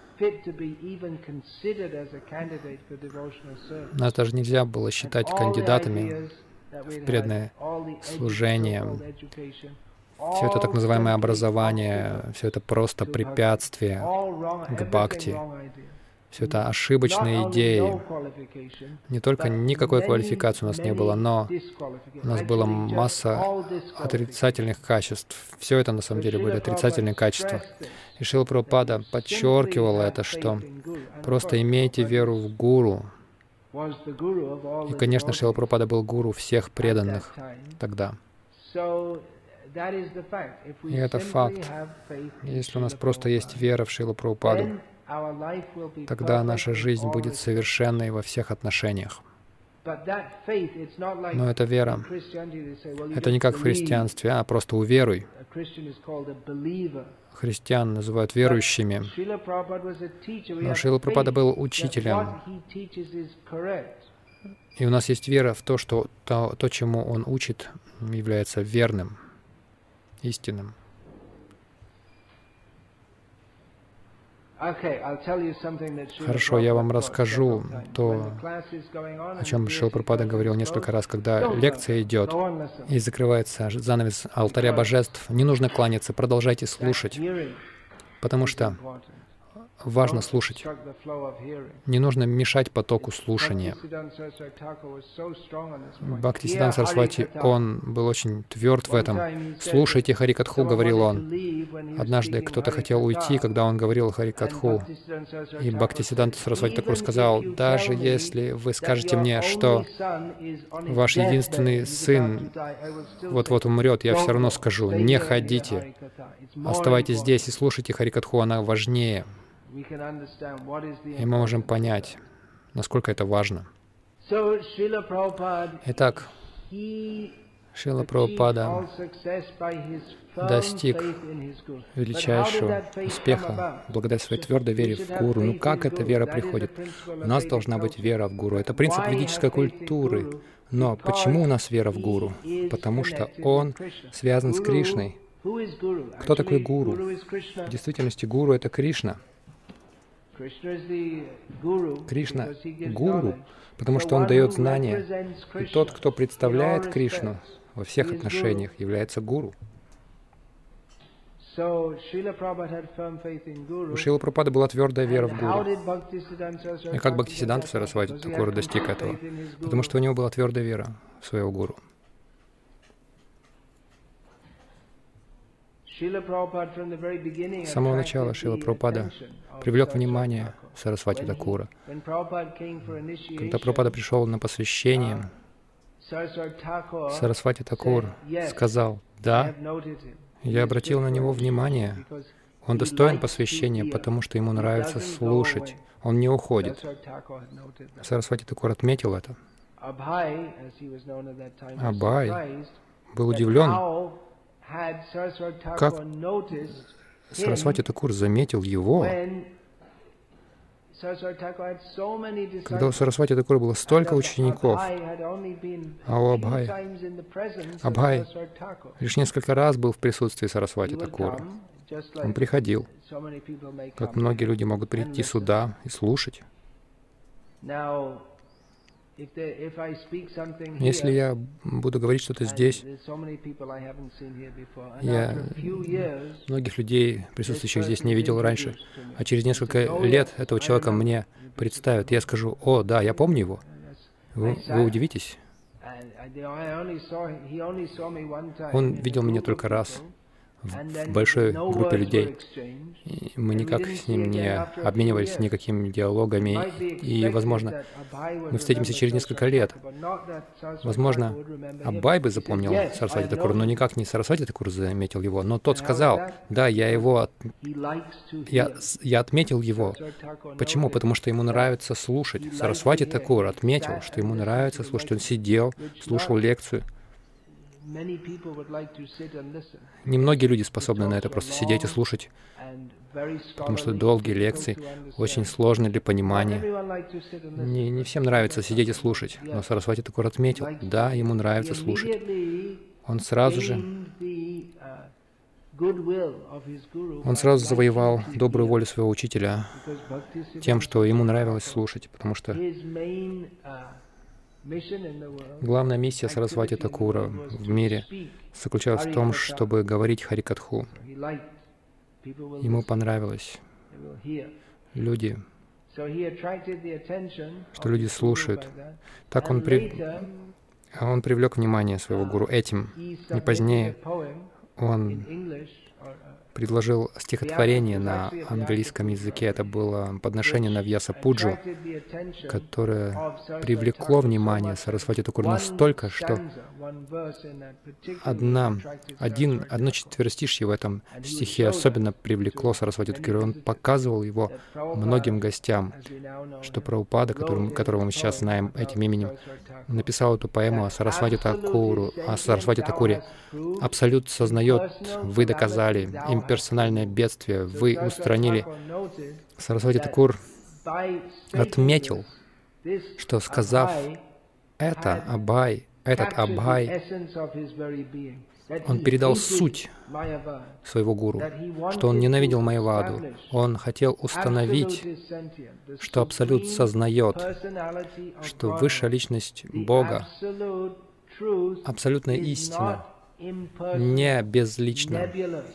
Нас даже нельзя было считать кандидатами в преданное служение. Все это так называемое образование, все это просто препятствие к бхакти. Все это ошибочные идеи. Не только никакой квалификации у нас не было, но у нас была масса отрицательных качеств. Все это на самом деле были отрицательные качества. И Шрила Прабхупада подчеркивал это, что просто имейте веру в Гуру. И, конечно, Шрила Прабхупада был гуру всех преданных тогда. И это факт. Если у нас просто есть вера в Шрилу Прабхупаду, тогда наша жизнь будет совершенной во всех отношениях. Но эта вера, это не как в христианстве, а просто уверуй. Христиан называют верующими. Но Шрила Прабхупада был учителем. И у нас есть вера в то, что то, чему он учит, является верным, истинным. Хорошо, я вам расскажу то, о чем Шрила Прабхупада говорил несколько раз, когда лекция идет и закрывается занавес алтаря божеств. Не нужно кланяться, продолжайте слушать, потому что важно слушать. Не нужно мешать потоку слушания. Бхактисиданта Сарасвати, он был очень тверд в этом. «Слушайте Харикатху», — говорил он. Однажды кто-то хотел уйти, когда он говорил Харикатху. И Бхактисиданта Сарасвати Такур сказал: «Даже если вы скажете мне, что ваш единственный сын вот-вот умрет, я все равно скажу: не ходите, оставайтесь здесь и слушайте Харикатху, она важнее». И мы можем понять, насколько это важно. Итак, Шрила Прабхупада достиг величайшего успеха благодаря своей твердой вере в Гуру. Ну как эта вера приходит? У нас должна быть вера в Гуру. Это принцип ведической культуры. Но почему у нас вера в Гуру? Потому что он связан с Кришной. Кто такой Гуру? В действительности Гуру — это Кришна. Кришна — гуру, потому что он дает знания. И тот, кто представляет Кришну во всех отношениях, является гуру. У Шрилы Прабхупады была твердая вера в Гуру. И как Бхактисиданта Сарасвати Такур достиг этого? Потому что у него была твердая вера в своего гуру. С самого начала Шрила Прабхупада привлек внимание Сарасвати Такура. Когда Прабхупада пришел на посвящение, Сарасвати Такур сказал: «Да, я обратил на него внимание. Он достоин посвящения, потому что ему нравится слушать. Он не уходит». Сарасвати Такур отметил это. Абхай был удивлен, как Сарасвати Такур заметил его, когда у Сарасвати Такура было столько учеников, а у Абхай лишь несколько раз был в присутствии Сарасвати Такура. Он приходил, как многие люди могут прийти сюда и слушать. Если я буду говорить что-то здесь, я многих людей, присутствующих здесь, не видел раньше, а через несколько лет этого человека мне представят. Я скажу: «О, да, я помню его». Вы удивитесь. Он видел меня только раз в большой группе людей. И мы никак с ним не обменивались никакими диалогами. И, возможно, мы встретимся через несколько лет. Возможно, Аббай бы запомнил Сарасвати Такура, но никак не Сарасвати Такур заметил его. Но тот сказал, да, я отметил его. Почему? Потому что ему нравится слушать. Сарасвати Такур отметил, что ему нравится слушать. Он сидел, слушал лекцию. Немногие люди способны на это, просто сидеть и слушать, потому что долгие лекции, очень сложные для понимания. Не всем нравится сидеть и слушать, но Сарасвати Такур отметил, да, ему нравится слушать. Он сразу завоевал добрую волю своего учителя тем, что ему нравилось слушать, потому что главная миссия Сарасвати Такура в мире заключалась в том, чтобы говорить Харикатху. Ему понравилось люди, что люди слушают. Так он привлек внимание своего гуру этим. И позднее он предложил стихотворение на английском языке. Это было подношение на Вьяса-пуджу, которое привлекло внимание Сарасвати Такур настолько, что одно четверостишье в этом стихе особенно привлекло Сарасвати Такура. Он показывал его многим гостям, что Прабхупада, которого мы сейчас знаем этим именем, написал эту поэму о Сарасвати Такуре. Абсолют сознает, вы доказали, имперсональное бедствие вы устранили. Сарасвати Такур отметил, что, сказав этот Аббай, он передал суть своего гуру, что он ненавидел Майяваду. Он хотел установить, что Абсолют сознает, что высшая личность Бога, абсолютная истина, не безлична.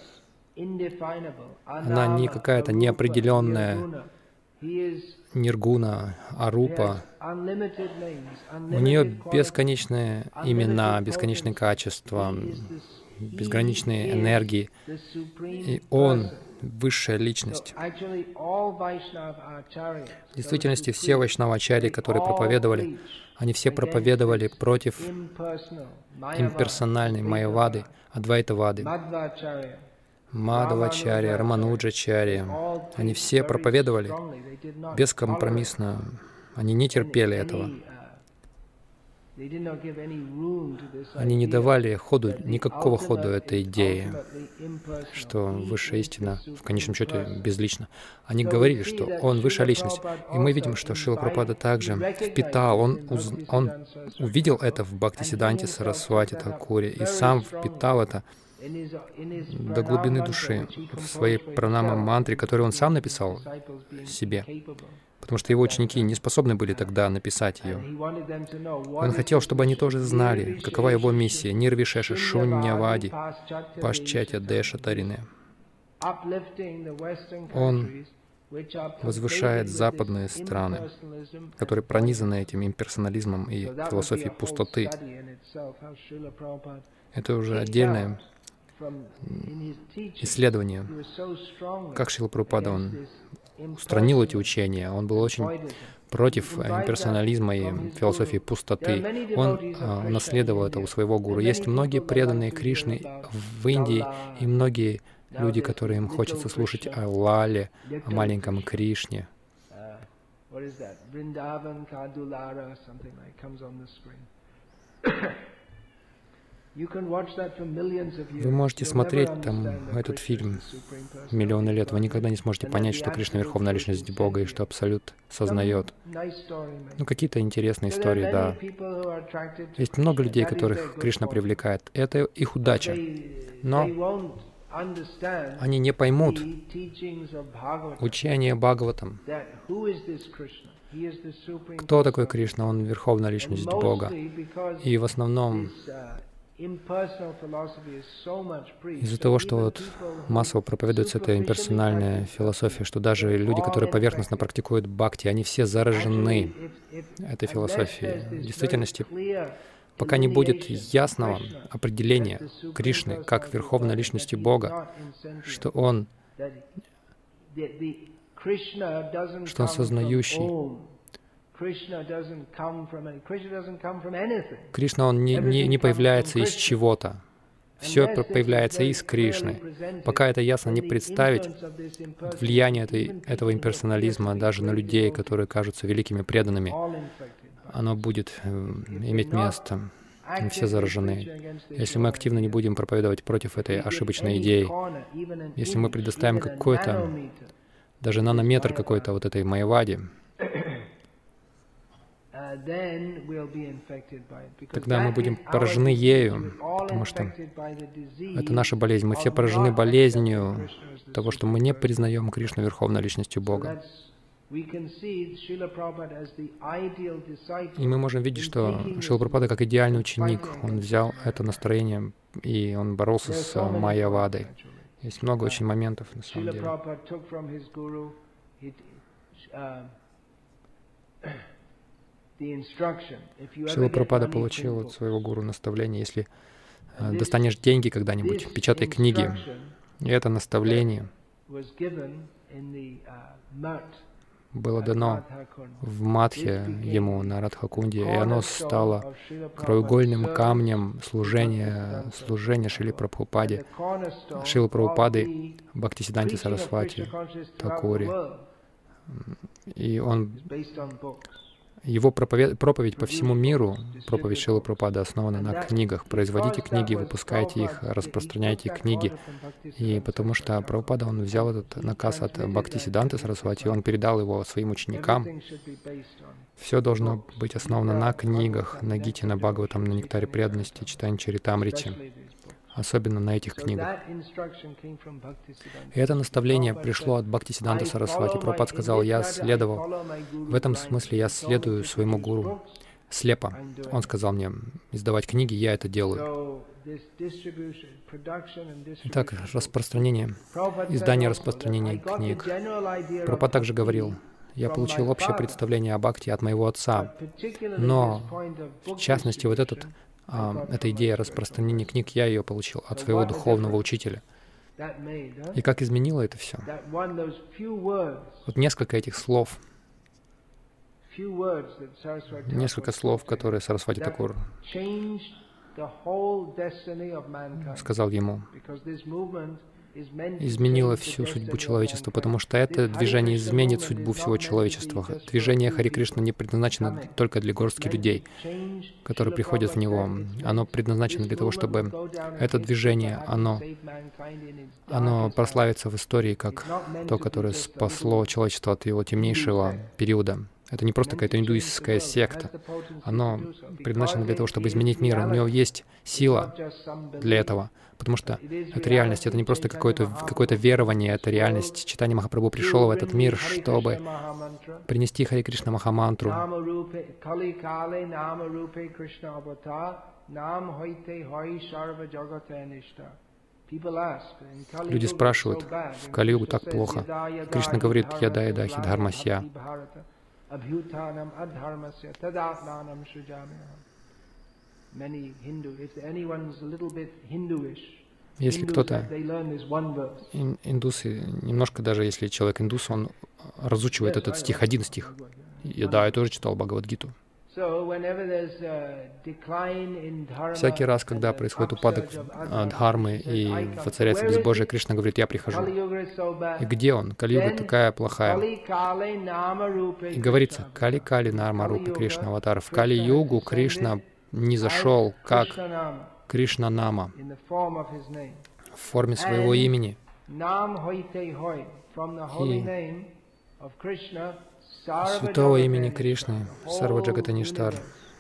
Она не какая-то неопределенная ниргуна, арупа. У нее бесконечные имена, бесконечные качества, безграничные энергии. И Он — высшая личность. В действительности все вайшнава-ачарьи, которые проповедовали, они все проповедовали против имперсональной Майявады, Адвайтавады, Мадхавачарья, Рамануджачарья. Они все проповедовали бескомпромиссно. Они не терпели этого. Они не давали никакого ходу этой идее, что высшая истина в конечном счете безлична. Они говорили, что Он высшая личность. И мы видим, что Шрила Прабхупада также впитал, он увидел это в Бхактисиддханте Сарасвати Такуре и сам впитал это до глубины души в своей пранама-мантре, которую он сам написал себе, потому что его ученики не способны были тогда написать ее. Он хотел, чтобы они тоже знали, какова его миссия — Нирвишеша Шуннявади Пашчатья Деша Тарине. Он возвышает западные страны, которые пронизаны этим имперсонализмом и философией пустоты. Это уже отдельное исследование, как Шрила Прабхупада, он устранил эти учения. Он был очень против имперсонализма и философии пустоты. Он унаследовал это у своего гуру. Есть многие преданные Кришны в Индии и многие люди, которые им хочется слушать о Лале, о маленьком Кришне. Вы можете смотреть там этот фильм миллионы лет, вы никогда не сможете понять, что Кришна — Верховная Личность Бога и что Абсолют сознает. Ну, какие-то интересные истории, да. Есть много людей, которых Кришна привлекает. Это их удача. Но они не поймут учение Бхагаватам. Кто такой Кришна? Он — Верховная Личность Бога. И в основном из-за того, что вот массово проповедуется эта имперсональная философия, что даже люди, которые поверхностно практикуют бхакти, они все заражены этой философией. В действительности пока не будет ясного определения Кришны как Верховной Личности Бога, что Он сознающий. Кришна, Он не появляется из чего-то. Все появляется из Кришны. Пока это ясно не представить, влияние этого имперсонализма даже на людей, которые кажутся великими преданными, оно будет иметь место. Мы все заражены. Если мы активно не будем проповедовать против этой ошибочной идеи, если мы предоставим какой-то, даже нанометр какой-то вот этой майявади, тогда мы будем поражены ею, потому что это наша болезнь. Мы все поражены болезнью того, что мы не признаем Кришну Верховной Личностью Бога. И мы можем видеть, что Шрила Прабхупада как идеальный ученик, он взял это настроение, и он боролся с майявадой. Есть много очень моментов, на самом деле. Шрила Прабхупада получил от своего гуру наставление: если достанешь деньги когда-нибудь, печатай книги. И это наставление было дано в Мадхе ему на Радхакунде, и оно стало краеугольным камнем служения Шриле Прабхупаде, Шрилы Прабхупады Бхактисиддханте Сарасвати Такуре. И его проповедь по всему миру, проповедь Шрилы Прабхупады, основана на книгах. Производите книги, выпускайте их, распространяйте книги. И потому что Прабхупада, он взял этот наказ от Бхактисиддханты Сарасвати, он передал его своим ученикам. Все должно быть основано на книгах, на Гите, на Бхагаватам, на Нектаре преданности, читании Чаритамрити. Особенно на этих книгах. И это наставление пришло от Бхактисиддханты Сарасвати. Прабхупад сказал: я следовал. В этом смысле я следую своему гуру слепо. Он сказал мне издавать книги, я это делаю. Итак, распространение, издание, распространение книг. Прабхупад также говорил: я получил общее представление о бхакти от моего отца, но, в частности, вот эта идея распространения книг, я ее получил от своего духовного учителя. И как изменило это все? Вот несколько этих слов, несколько слов, которые Сарасвати Такур сказал ему, изменило всю судьбу человечества, потому что это движение изменит судьбу всего человечества. Движение Хари Кришна не предназначено только для горстки людей, которые приходят в него. Оно предназначено для того, чтобы это движение, оно прославится в истории как то, которое спасло человечество от его темнейшего периода. Это не просто какая-то индуистская секта. Оно предназначено для того, чтобы изменить мир. У него есть сила для этого. Потому что это реальность, это не просто какое-то верование, это реальность. Чайтанья Махапрабху пришел в этот мир, чтобы принести Хари Кришна Махамантру. Люди спрашивают, в Кали-югу так плохо. Кришна говорит: «Яда яда хи дхармасья». Если кто-то, индусы, немножко даже если человек индус, он разучивает этот стих, один стих. Я тоже читал Бхагавад-гиту. Всякий раз, когда происходит упадок дхармы и воцаряется безбожие, Кришна говорит: «Я прихожу». И где он? Кали-юга такая плохая. И говорится: «Кали-кали нарма-рупи Кришна аватар». В Кали-югу Кришна не зашел как Кришна-нама в форме своего имени. И святого имени Кришны, Сарва Джагатаништар.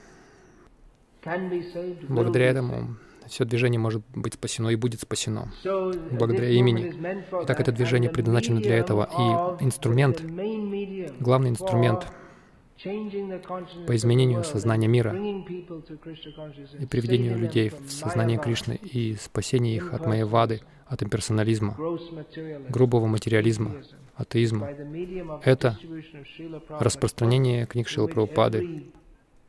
Благодаря этому все движение может быть спасено и будет спасено. Благодаря имени. Итак, это движение предназначено для этого. И инструмент, главный инструмент по изменению сознания мира и приведению людей в сознание Кришны и спасению их от майявады, от имперсонализма, грубого материализма, атеизма. Это распространение книг Шрилы Прабхупады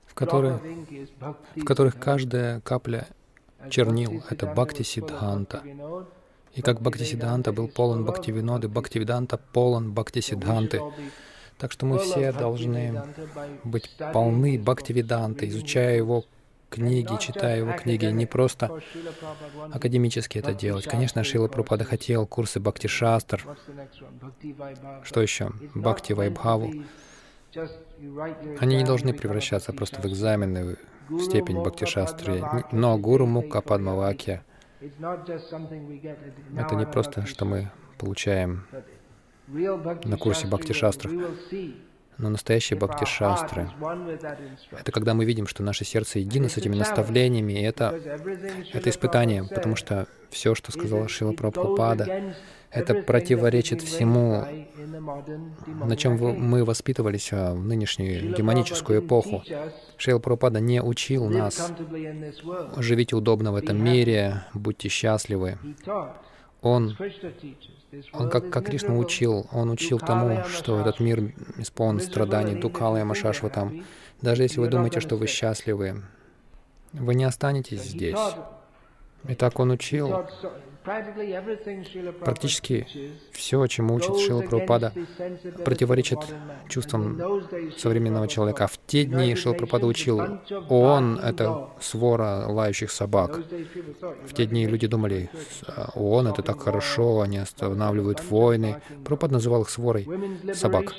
в которых каждая капля чернил — это Бхакти-сиддханта. И как Бхакти-сиддханта был полон Бхактивиноды, Бхактивиданта полон Бхакти-сиддханты. Так что мы все должны быть полны Бхактивиданты, изучая его книги, читая его книги, не просто академически это делать. Конечно, Шрила Прабхупада хотел курсы Бхакти-шастр. Что еще? Бхакти-вайбхаву. Они не должны превращаться просто в экзамены, в степень Бхакти-шастры. Но Гуру Мукха Падмавакья — это не просто, что мы получаем на курсе Бхакти-шастрах. Но настоящие бхакти-шастры — это когда мы видим, что наше сердце едино с этими наставлениями, и это испытание, потому что все, что сказала Шрила Прабхупада, это противоречит всему, на чем мы воспитывались в нынешнюю демоническую эпоху. Шрила Прабхупада не учил нас: живите удобно в этом мире, будьте счастливы. Он, как Кришна учил, он учил тому, что этот мир исполнен страданий, дукхала и машашватам. Даже если вы думаете, что вы счастливы, вы не останетесь здесь. И так он учил. Практически все, чему учит Шрила Прабхупада, противоречит чувствам современного человека. А в те дни Шрила Прабхупада учил: ООН — это свора лающих собак. В те дни люди думали: ООН — это так хорошо, они останавливают войны. Прабхупада называл их сворой собак.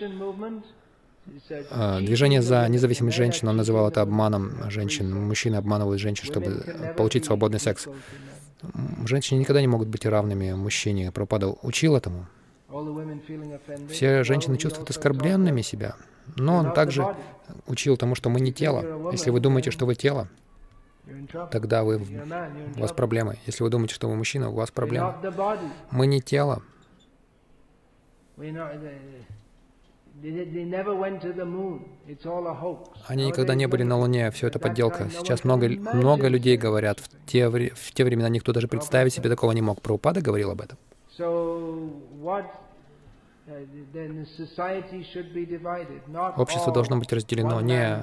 Движение за независимость женщин, он называл это обманом женщин. Мужчины обманывают женщин, чтобы получить свободный секс. Женщины никогда не могут быть равными мужчине. Прабхупада учил этому. Все женщины чувствуют оскорбленными себя. Но он также учил тому, что мы не тело. Если вы думаете, что вы тело, тогда у вас проблемы. Если вы думаете, что вы мужчина, у вас проблемы. Мы не тело. Они никогда не были на Луне, все это подделка. Сейчас много людей говорят. В те времена никто даже представить себе такого не мог. Прабхупада говорил об этом. Общество должно быть разделено.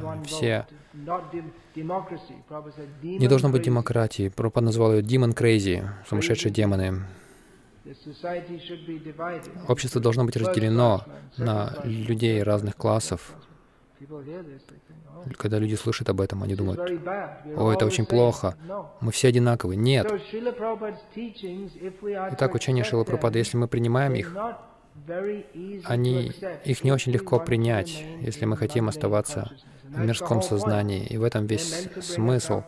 Не должно быть демократии. Прабхупада назвал ее «demon crazy», сумасшедшие демоны. Общество должно быть разделено на людей разных классов. Когда люди слышат об этом, они думают: «О, это очень плохо, мы все одинаковы». Нет. Итак, учение Шрилы Прабхупады, если мы принимаем их, их не очень легко принять, если мы хотим оставаться в мирском сознании. И в этом весь смысл,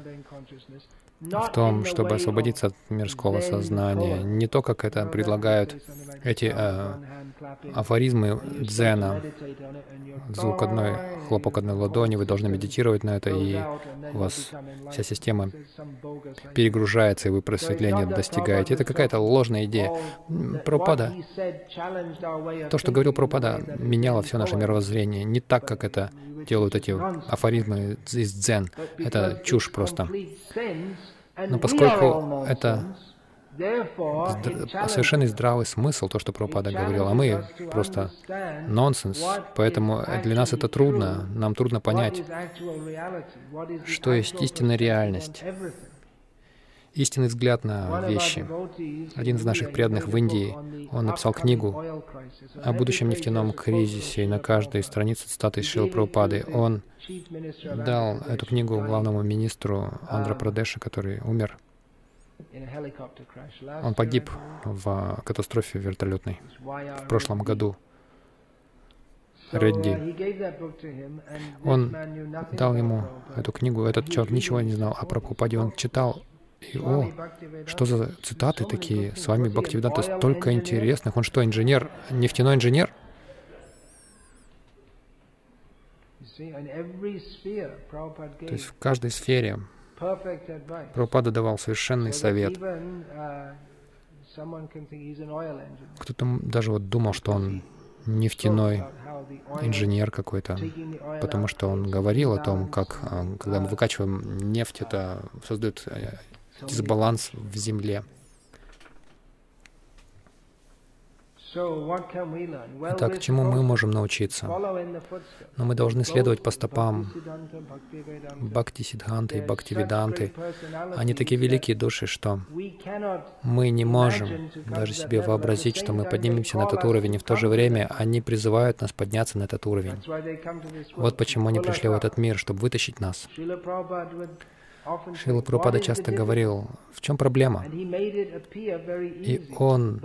в том, чтобы освободиться от мирского сознания. Не то, как это предлагают эти афоризмы дзена. Звук хлопок одной ладони, вы должны медитировать на это, и у вас вся система перегружается, и вы просветления достигаете. Это какая-то ложная идея. Прабхупада, то, что говорил Прабхупада, меняло все наше мировоззрение. Не так, как это делают эти афоризмы из дзен. Это чушь просто. Но поскольку это совершенный здравый смысл, то, что Прабхупада говорил, а мы просто нонсенс, поэтому для нас это трудно, нам трудно понять, что есть истинная реальность, истинный взгляд на вещи. Один из наших преданных в Индии, он написал книгу о будущем нефтяном кризисе, и на каждой странице цитаты из Шрилы Прабхупады. Он дал эту книгу главному министру Андхра-Прадеша, который умер. Он погиб в катастрофе вертолетной в прошлом году. Редди. Он дал ему эту книгу. Этот человек ничего не знал о Прабхупаде. Он читал, и что за цитаты такие? С вами Бхактивиданта столько интересных. Он что, инженер, нефтяной инженер? То есть в каждой сфере Прабхупада давал совершенный совет. Кто-то даже думал, что он нефтяной инженер какой-то, потому что он говорил о том, как, когда мы выкачиваем нефть, это создает дисбаланс в земле. Итак, чему мы можем научиться? Но мы должны следовать по стопам Бхактисиддханты и Бхактивиданты. Они такие великие души, что мы не можем даже себе вообразить, что мы поднимемся на этот уровень, и в то же время они призывают нас подняться на этот уровень. Вот почему они пришли в этот мир, чтобы вытащить нас. Шрила Прабхупада часто говорил, в чем проблема? И он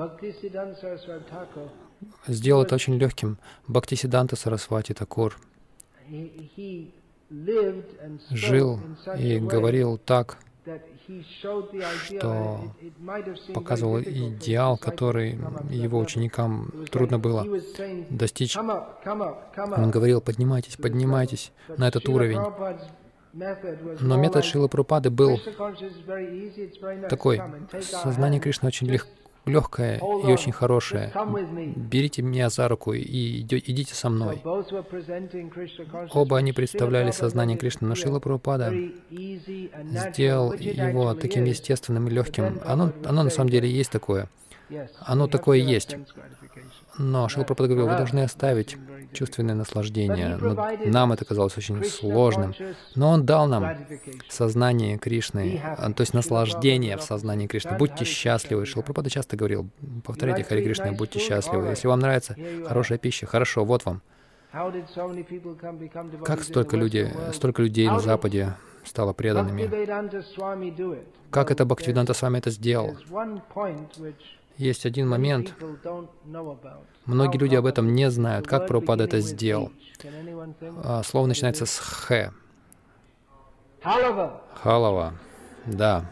сделал это очень легким. Бхактисиддханта Сарасвати Такур жил и говорил так, что показывал идеал, который его ученикам трудно было достичь. Он говорил, поднимайтесь, поднимайтесь на этот уровень. Но метод Шрилы Прабхупады был такой. Сознание Кришны очень легкое и очень хорошее. Берите меня за руку и идите со мной. Оба они представляли сознание Кришны, но Шрила Прабхупада сделал его таким естественным и легким. Оно на самом деле есть такое. Оно такое есть. Но Шрила Прабхупада говорил, вы должны оставить чувственное наслаждение. Но нам это казалось очень сложным. Но Он дал нам сознание Кришны, то есть наслаждение в сознании Кришны. Будьте счастливы. Шрила Прабхупада часто говорил, повторяйте Харе Кришна, будьте счастливы. Если вам нравится хорошая пища, хорошо, вот вам. Как столько людей на Западе стало преданными? Как это Бхактивиданта Свами это сделал? Есть один момент, многие люди об этом не знают, как Прабхупада это сделал. Слово начинается с «х». Халава. Да.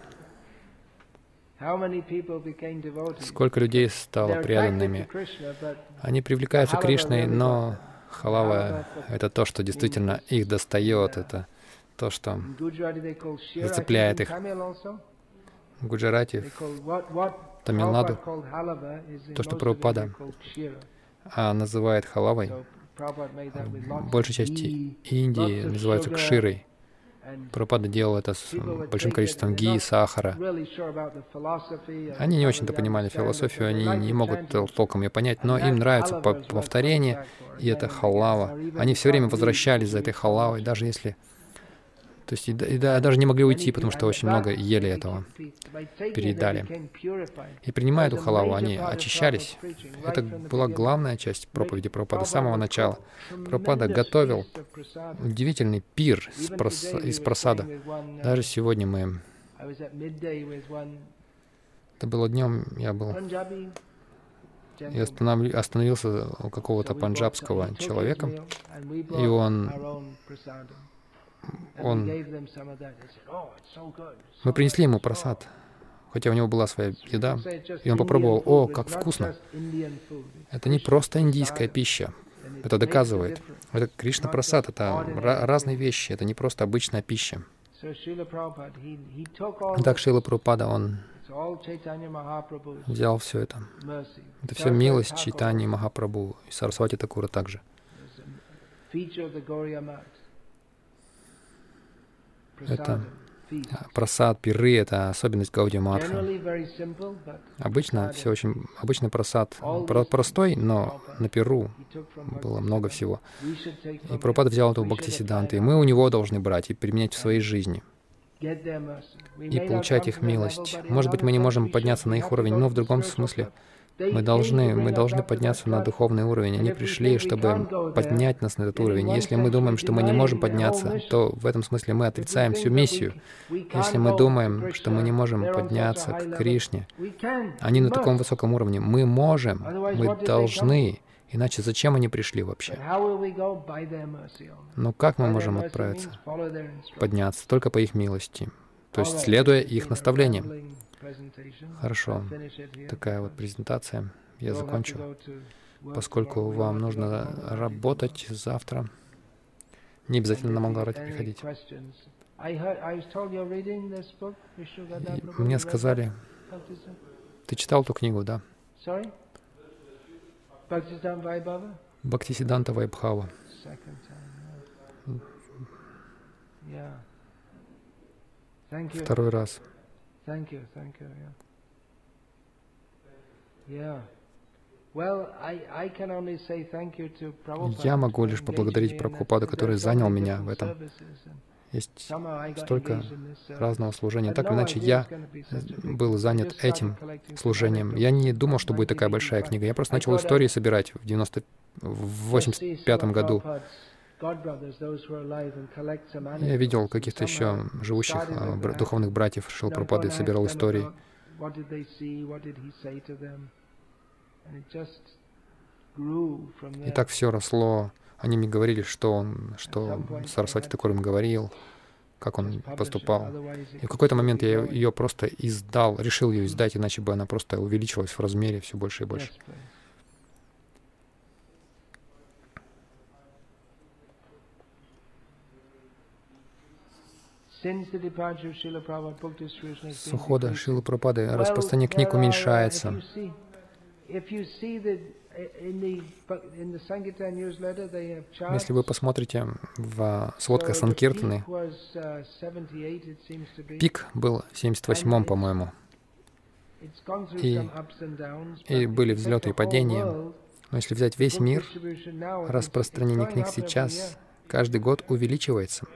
Сколько людей стало преданными? Они привлекаются Кришной, но халава — это то, что действительно их достает, это то, что зацепляет их. В Гуджарате, в Тамилнаду, то, что Прабхупада называет халавой, в большей части Индии называется кширой. Прабхупада делал это с большим количеством ги, сахара. Они не очень-то понимали философию, они не могут толком ее понять, но им нравится повторение, и это халава. Они все время возвращались за этой халавой, даже если... То есть и даже не могли уйти, потому что очень много ели этого, переедали. И принимая эту халаву, они очищались. Это была главная часть проповеди Прабхупады с самого начала. Прабхупада готовил удивительный пир из прасада. Даже сегодня мы... Это было днем, я остановился у какого-то панджабского человека, и мы принесли ему прасад, хотя у него была своя еда, и он попробовал, о, как вкусно. Это не просто индийская пища, это доказывает. Это Кришна прасад, это разные вещи, это не просто обычная пища. Так Шрила Прабхупада, он взял все это. Это все милость Чайтаньи Махапрабху и Сарасвати Такура также. Это прасад, пиры, это особенность Гаудия Матха. Обычно все очень... Обычный прасад простой, но на пиру было много всего. И Прабхупада взял эту Бхактисиддханту, и мы у него должны брать и применять в своей жизни. И получать их милость. Может быть, мы не можем подняться на их уровень, но в другом смысле. Мы должны подняться на духовный уровень. Они пришли, чтобы поднять нас на этот уровень. Если мы думаем, что мы не можем подняться, то в этом смысле мы отрицаем всю миссию. Если мы думаем, что мы не можем подняться к Кришне, они на таком высоком уровне. Мы можем, мы должны. Иначе зачем они пришли вообще? Но как мы можем отправиться? Подняться только по их милости. То есть следуя их наставлениям. Хорошо. Такая вот презентация. Я закончу. Поскольку вам нужно работать завтра, не обязательно на Мангаларати приходить. Мне сказали, ты читал эту книгу, да? Бхактисиддханта Вайбхава. Второй раз. Я могу лишь поблагодарить Прабхупаду, который занял меня в этом. Есть столько разного служения. Так или иначе, я был занят этим служением. Я не думал, что будет такая большая книга. Я просто начал истории собирать в 85 году. Я видел каких-то еще живущих духовных братьев Шрилы Прабхупады, собирал истории. И так все росло. Они мне говорили, что Сарасвати Такур им говорил, как он поступал. И в какой-то момент я ее просто издал, решил ее издать, иначе бы она просто увеличилась в размере все больше и больше. С ухода Шрилы Прабхупады распространение книг уменьшается. Если вы посмотрите в сводках Санкиртаны, пик был в 78-м, по-моему. И были взлеты и падения. Но если взять весь мир, распространение книг сейчас каждый год увеличивается.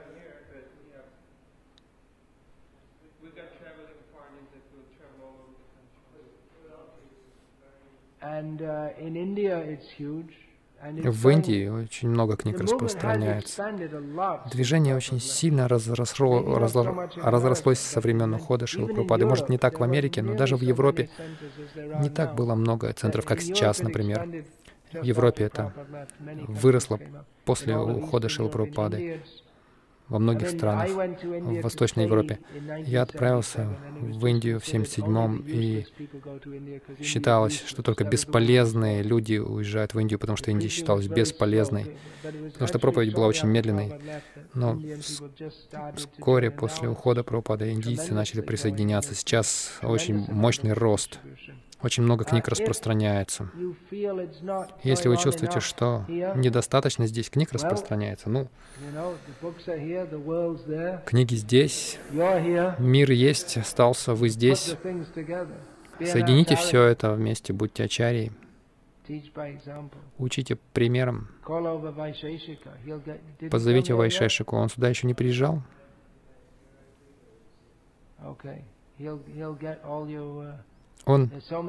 В Индии очень много книг распространяется. Движение очень сильно разрослось со времен ухода Шрилы Прабхупады. Может, не так в Америке, но даже в Европе не так было много центров, как сейчас, например. В Европе это выросло после ухода Шрилы Прабхупады. Во многих странах, в Восточной Европе. Я отправился в Индию в 1977-м, и считалось, что только бесполезные люди уезжают в Индию, потому что Индия считалась бесполезной, потому что проповедь была очень медленной. Но вскоре после ухода Прабхупады индийцы начали присоединяться. Сейчас очень мощный рост. Очень много книг распространяется. Если вы чувствуете, что недостаточно здесь книг распространяется, книги здесь, мир есть, остался, вы здесь. Соедините все это вместе, будьте ачарьей. Учите примером. Позовите Вайшешику, он сюда еще не приезжал. Он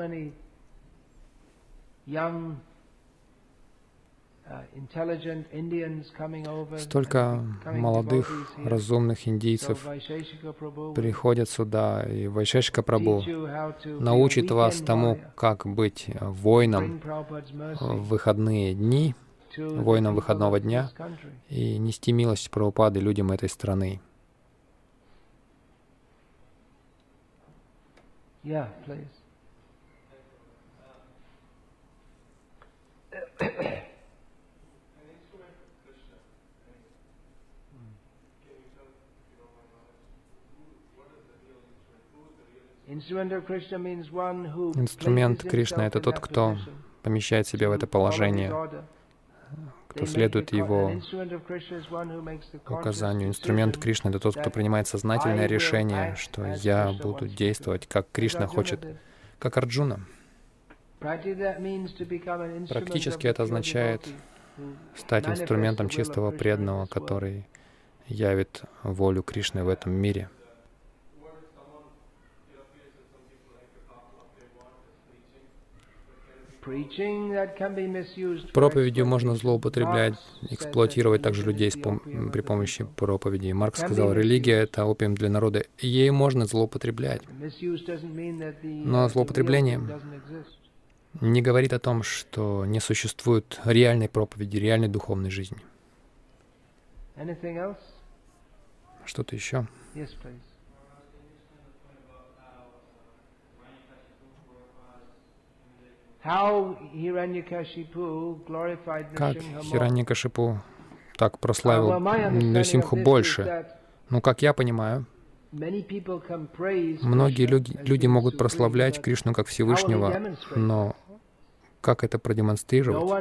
столько молодых, разумных индийцев приходят сюда, и Вайшешика Прабху научит вас тому, как быть воином в выходные дни, воином выходного дня, и нести милость Прабхупады людям этой страны. Yeah, please. Инструмент Кришны — это тот, кто помещает себя в это положение, кто следует его указанию. Инструмент Кришны — это тот, кто принимает сознательное решение, что я буду действовать, как Кришна хочет, как Арджуна. Практически это означает стать инструментом чистого преданного, который явит волю Кришны в этом мире. Проповедью можно злоупотреблять, эксплуатировать также людей при помощи проповеди. Маркс сказал, религия — это опиум для народа, и ей можно злоупотреблять. Но злоупотребление не говорит о том, что не существует реальной проповеди, реальной духовной жизни. Что-то еще? Как Хираньякашипу так прославил Нрисимху больше? Ну, как я понимаю, многие люди могут прославлять Кришну как Всевышнего, но как это продемонстрировать?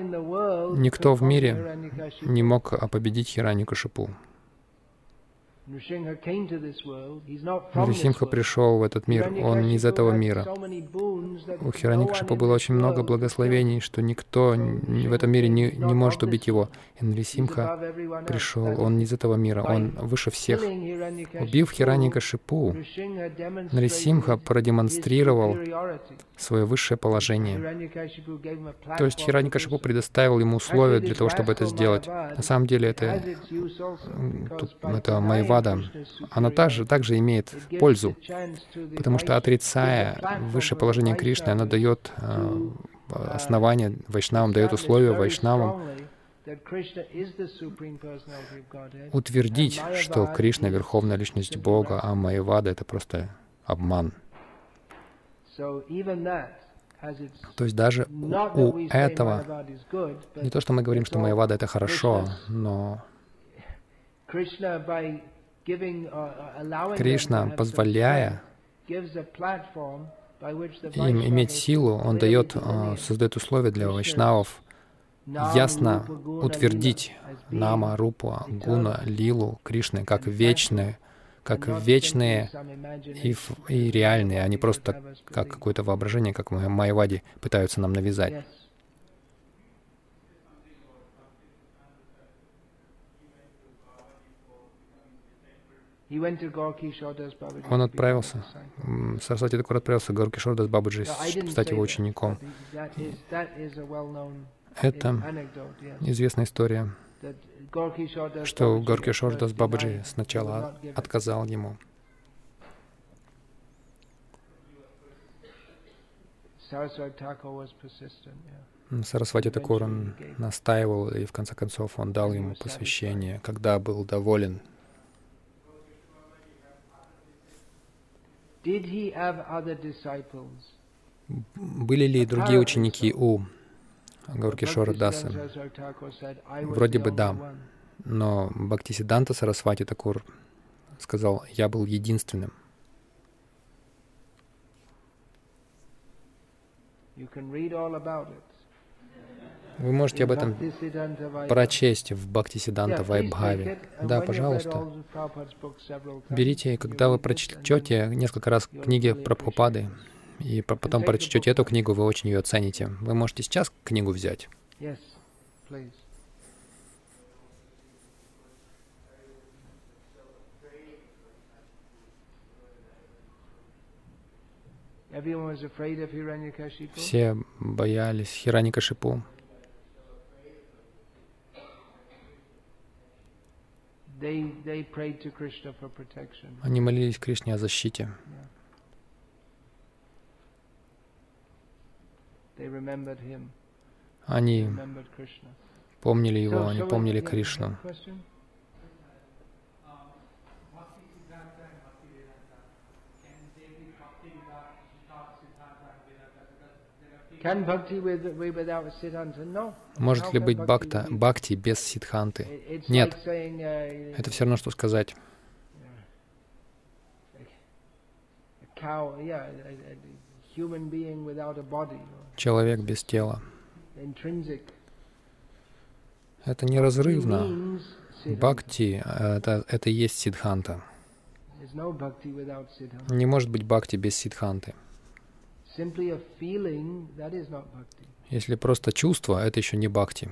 Никто в мире не мог победить Хираньякашипу. Нарисимха пришел в этот мир, он не из этого мира. У Хираньякшипу было очень много благословений, что никто в этом мире не может убить его. И Нарисимха пришел, он не из этого мира, он выше всех. Убив Хираньякшипу, Нарисимха продемонстрировал свое высшее положение. То есть Хираньякшипу предоставил ему условия для того, чтобы это сделать. На самом деле это Майявада. Она также имеет пользу, потому что, отрицая высшее положение Кришны, она дает основание вайшнавам, дает условия вайшнавам утвердить, что Кришна — Верховная Личность Бога, а Майявада — это просто обман. То есть даже у этого, не то, что мы говорим, что Майявада — это хорошо, но Кришна, позволяя им иметь силу, Он создает условия для вайшнавов ясно утвердить Нама, Рупу, Гуна, Лилу, Кришны как вечные и реальные, а не просто как какое-то воображение, как в Майяваде пытаются нам навязать. Он отправился, Сарасвати Такур отправился к Гауракишор Дас Бабаджи, стать его учеником. Это известная история, что Гауракишор Дас Бабаджи сначала отказал ему. Сарасвати Такур, он настаивал, и в конце концов он дал ему посвящение, когда был доволен. Были ли другие ученики у Гауракишора Даса? Вроде бы да, но Бхактисиддханта Сарасвати Такур сказал: «Я был единственным». Вы можете об этом прочесть в Бхактисиддханта Вайбхаве. Да, пожалуйста. Берите, когда вы прочтете несколько раз книги Прабхупады, и потом прочтете эту книгу, вы очень ее оцените. Вы можете сейчас книгу взять. Все боялись Хираньякашипу. Они молились Кришне о защите. Они помнили его, они помнили Кришну. Может ли быть бхакти без сиддханты? Нет. Это все равно, что сказать: человек без тела. Это неразрывно. Бхакти — это и есть сиддханта. Не может быть бхакти без сиддханты. Если просто чувство, это еще не бхакти.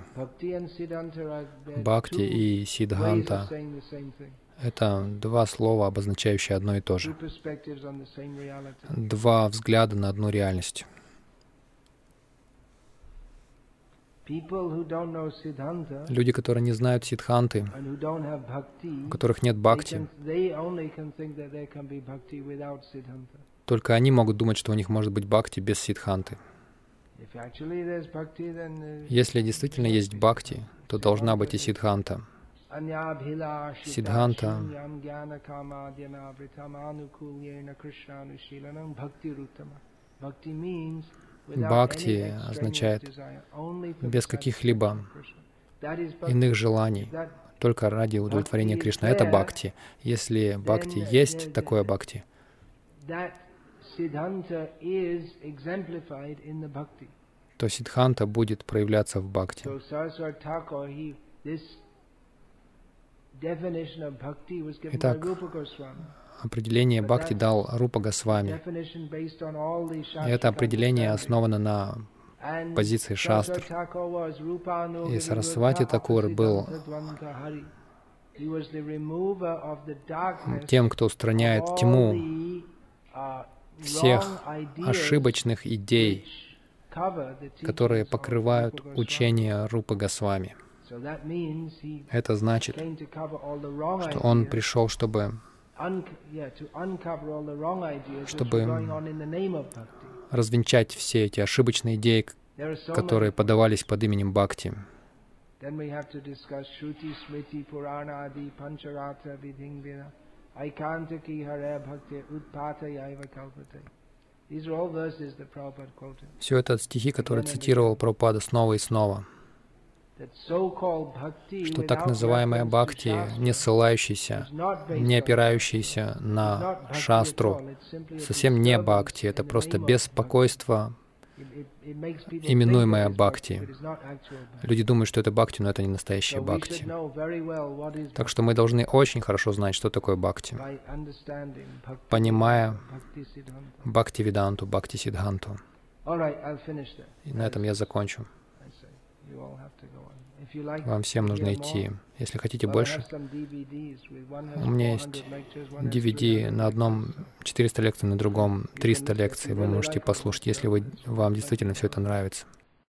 Бхакти и сиддханта — это два слова, обозначающие одно и то же. Два взгляда на одну реальность. Люди, которые не знают сиддханты, у которых нет бхакти, только они могут думать, что у них может быть бхакти без сиддханты. Если действительно есть бхакти, то должна быть и сиддханта. Сиддханта бхакти означает без каких-либо иных желаний, только ради удовлетворения Кришны. Это бхакти. Если бхакти есть такое бхакти, то сиддханта будет проявляться в бхакти. Итак, определение бхакти дал Рупа Госвами. И это определение основано на позиции шастр. И Сарасвати Такур был тем, кто устраняет тьму всех ошибочных идей, которые покрывают учение Рупы Госвами. Это значит, что он пришел, чтобы развенчать все эти ошибочные идеи, которые подавались под именем Бхакти. Все это стихи, которые цитировал Прабхупада снова и снова. Что так называемая бхакти, не ссылающаяся, не опирающаяся на шастру, совсем не бхакти, это просто беспокойство, именуемое бхакти. Люди думают, что это бхакти, но это не настоящая бхакти. Так что мы должны очень хорошо знать, что такое бхакти, понимая бхакти-веданту, бхакти-сиддханту. И на этом я закончу. Вам всем нужно идти. Если хотите больше, у меня есть DVD, на одном 400 лекций, на другом 300 лекций. Вы можете послушать, если вам действительно все это нравится.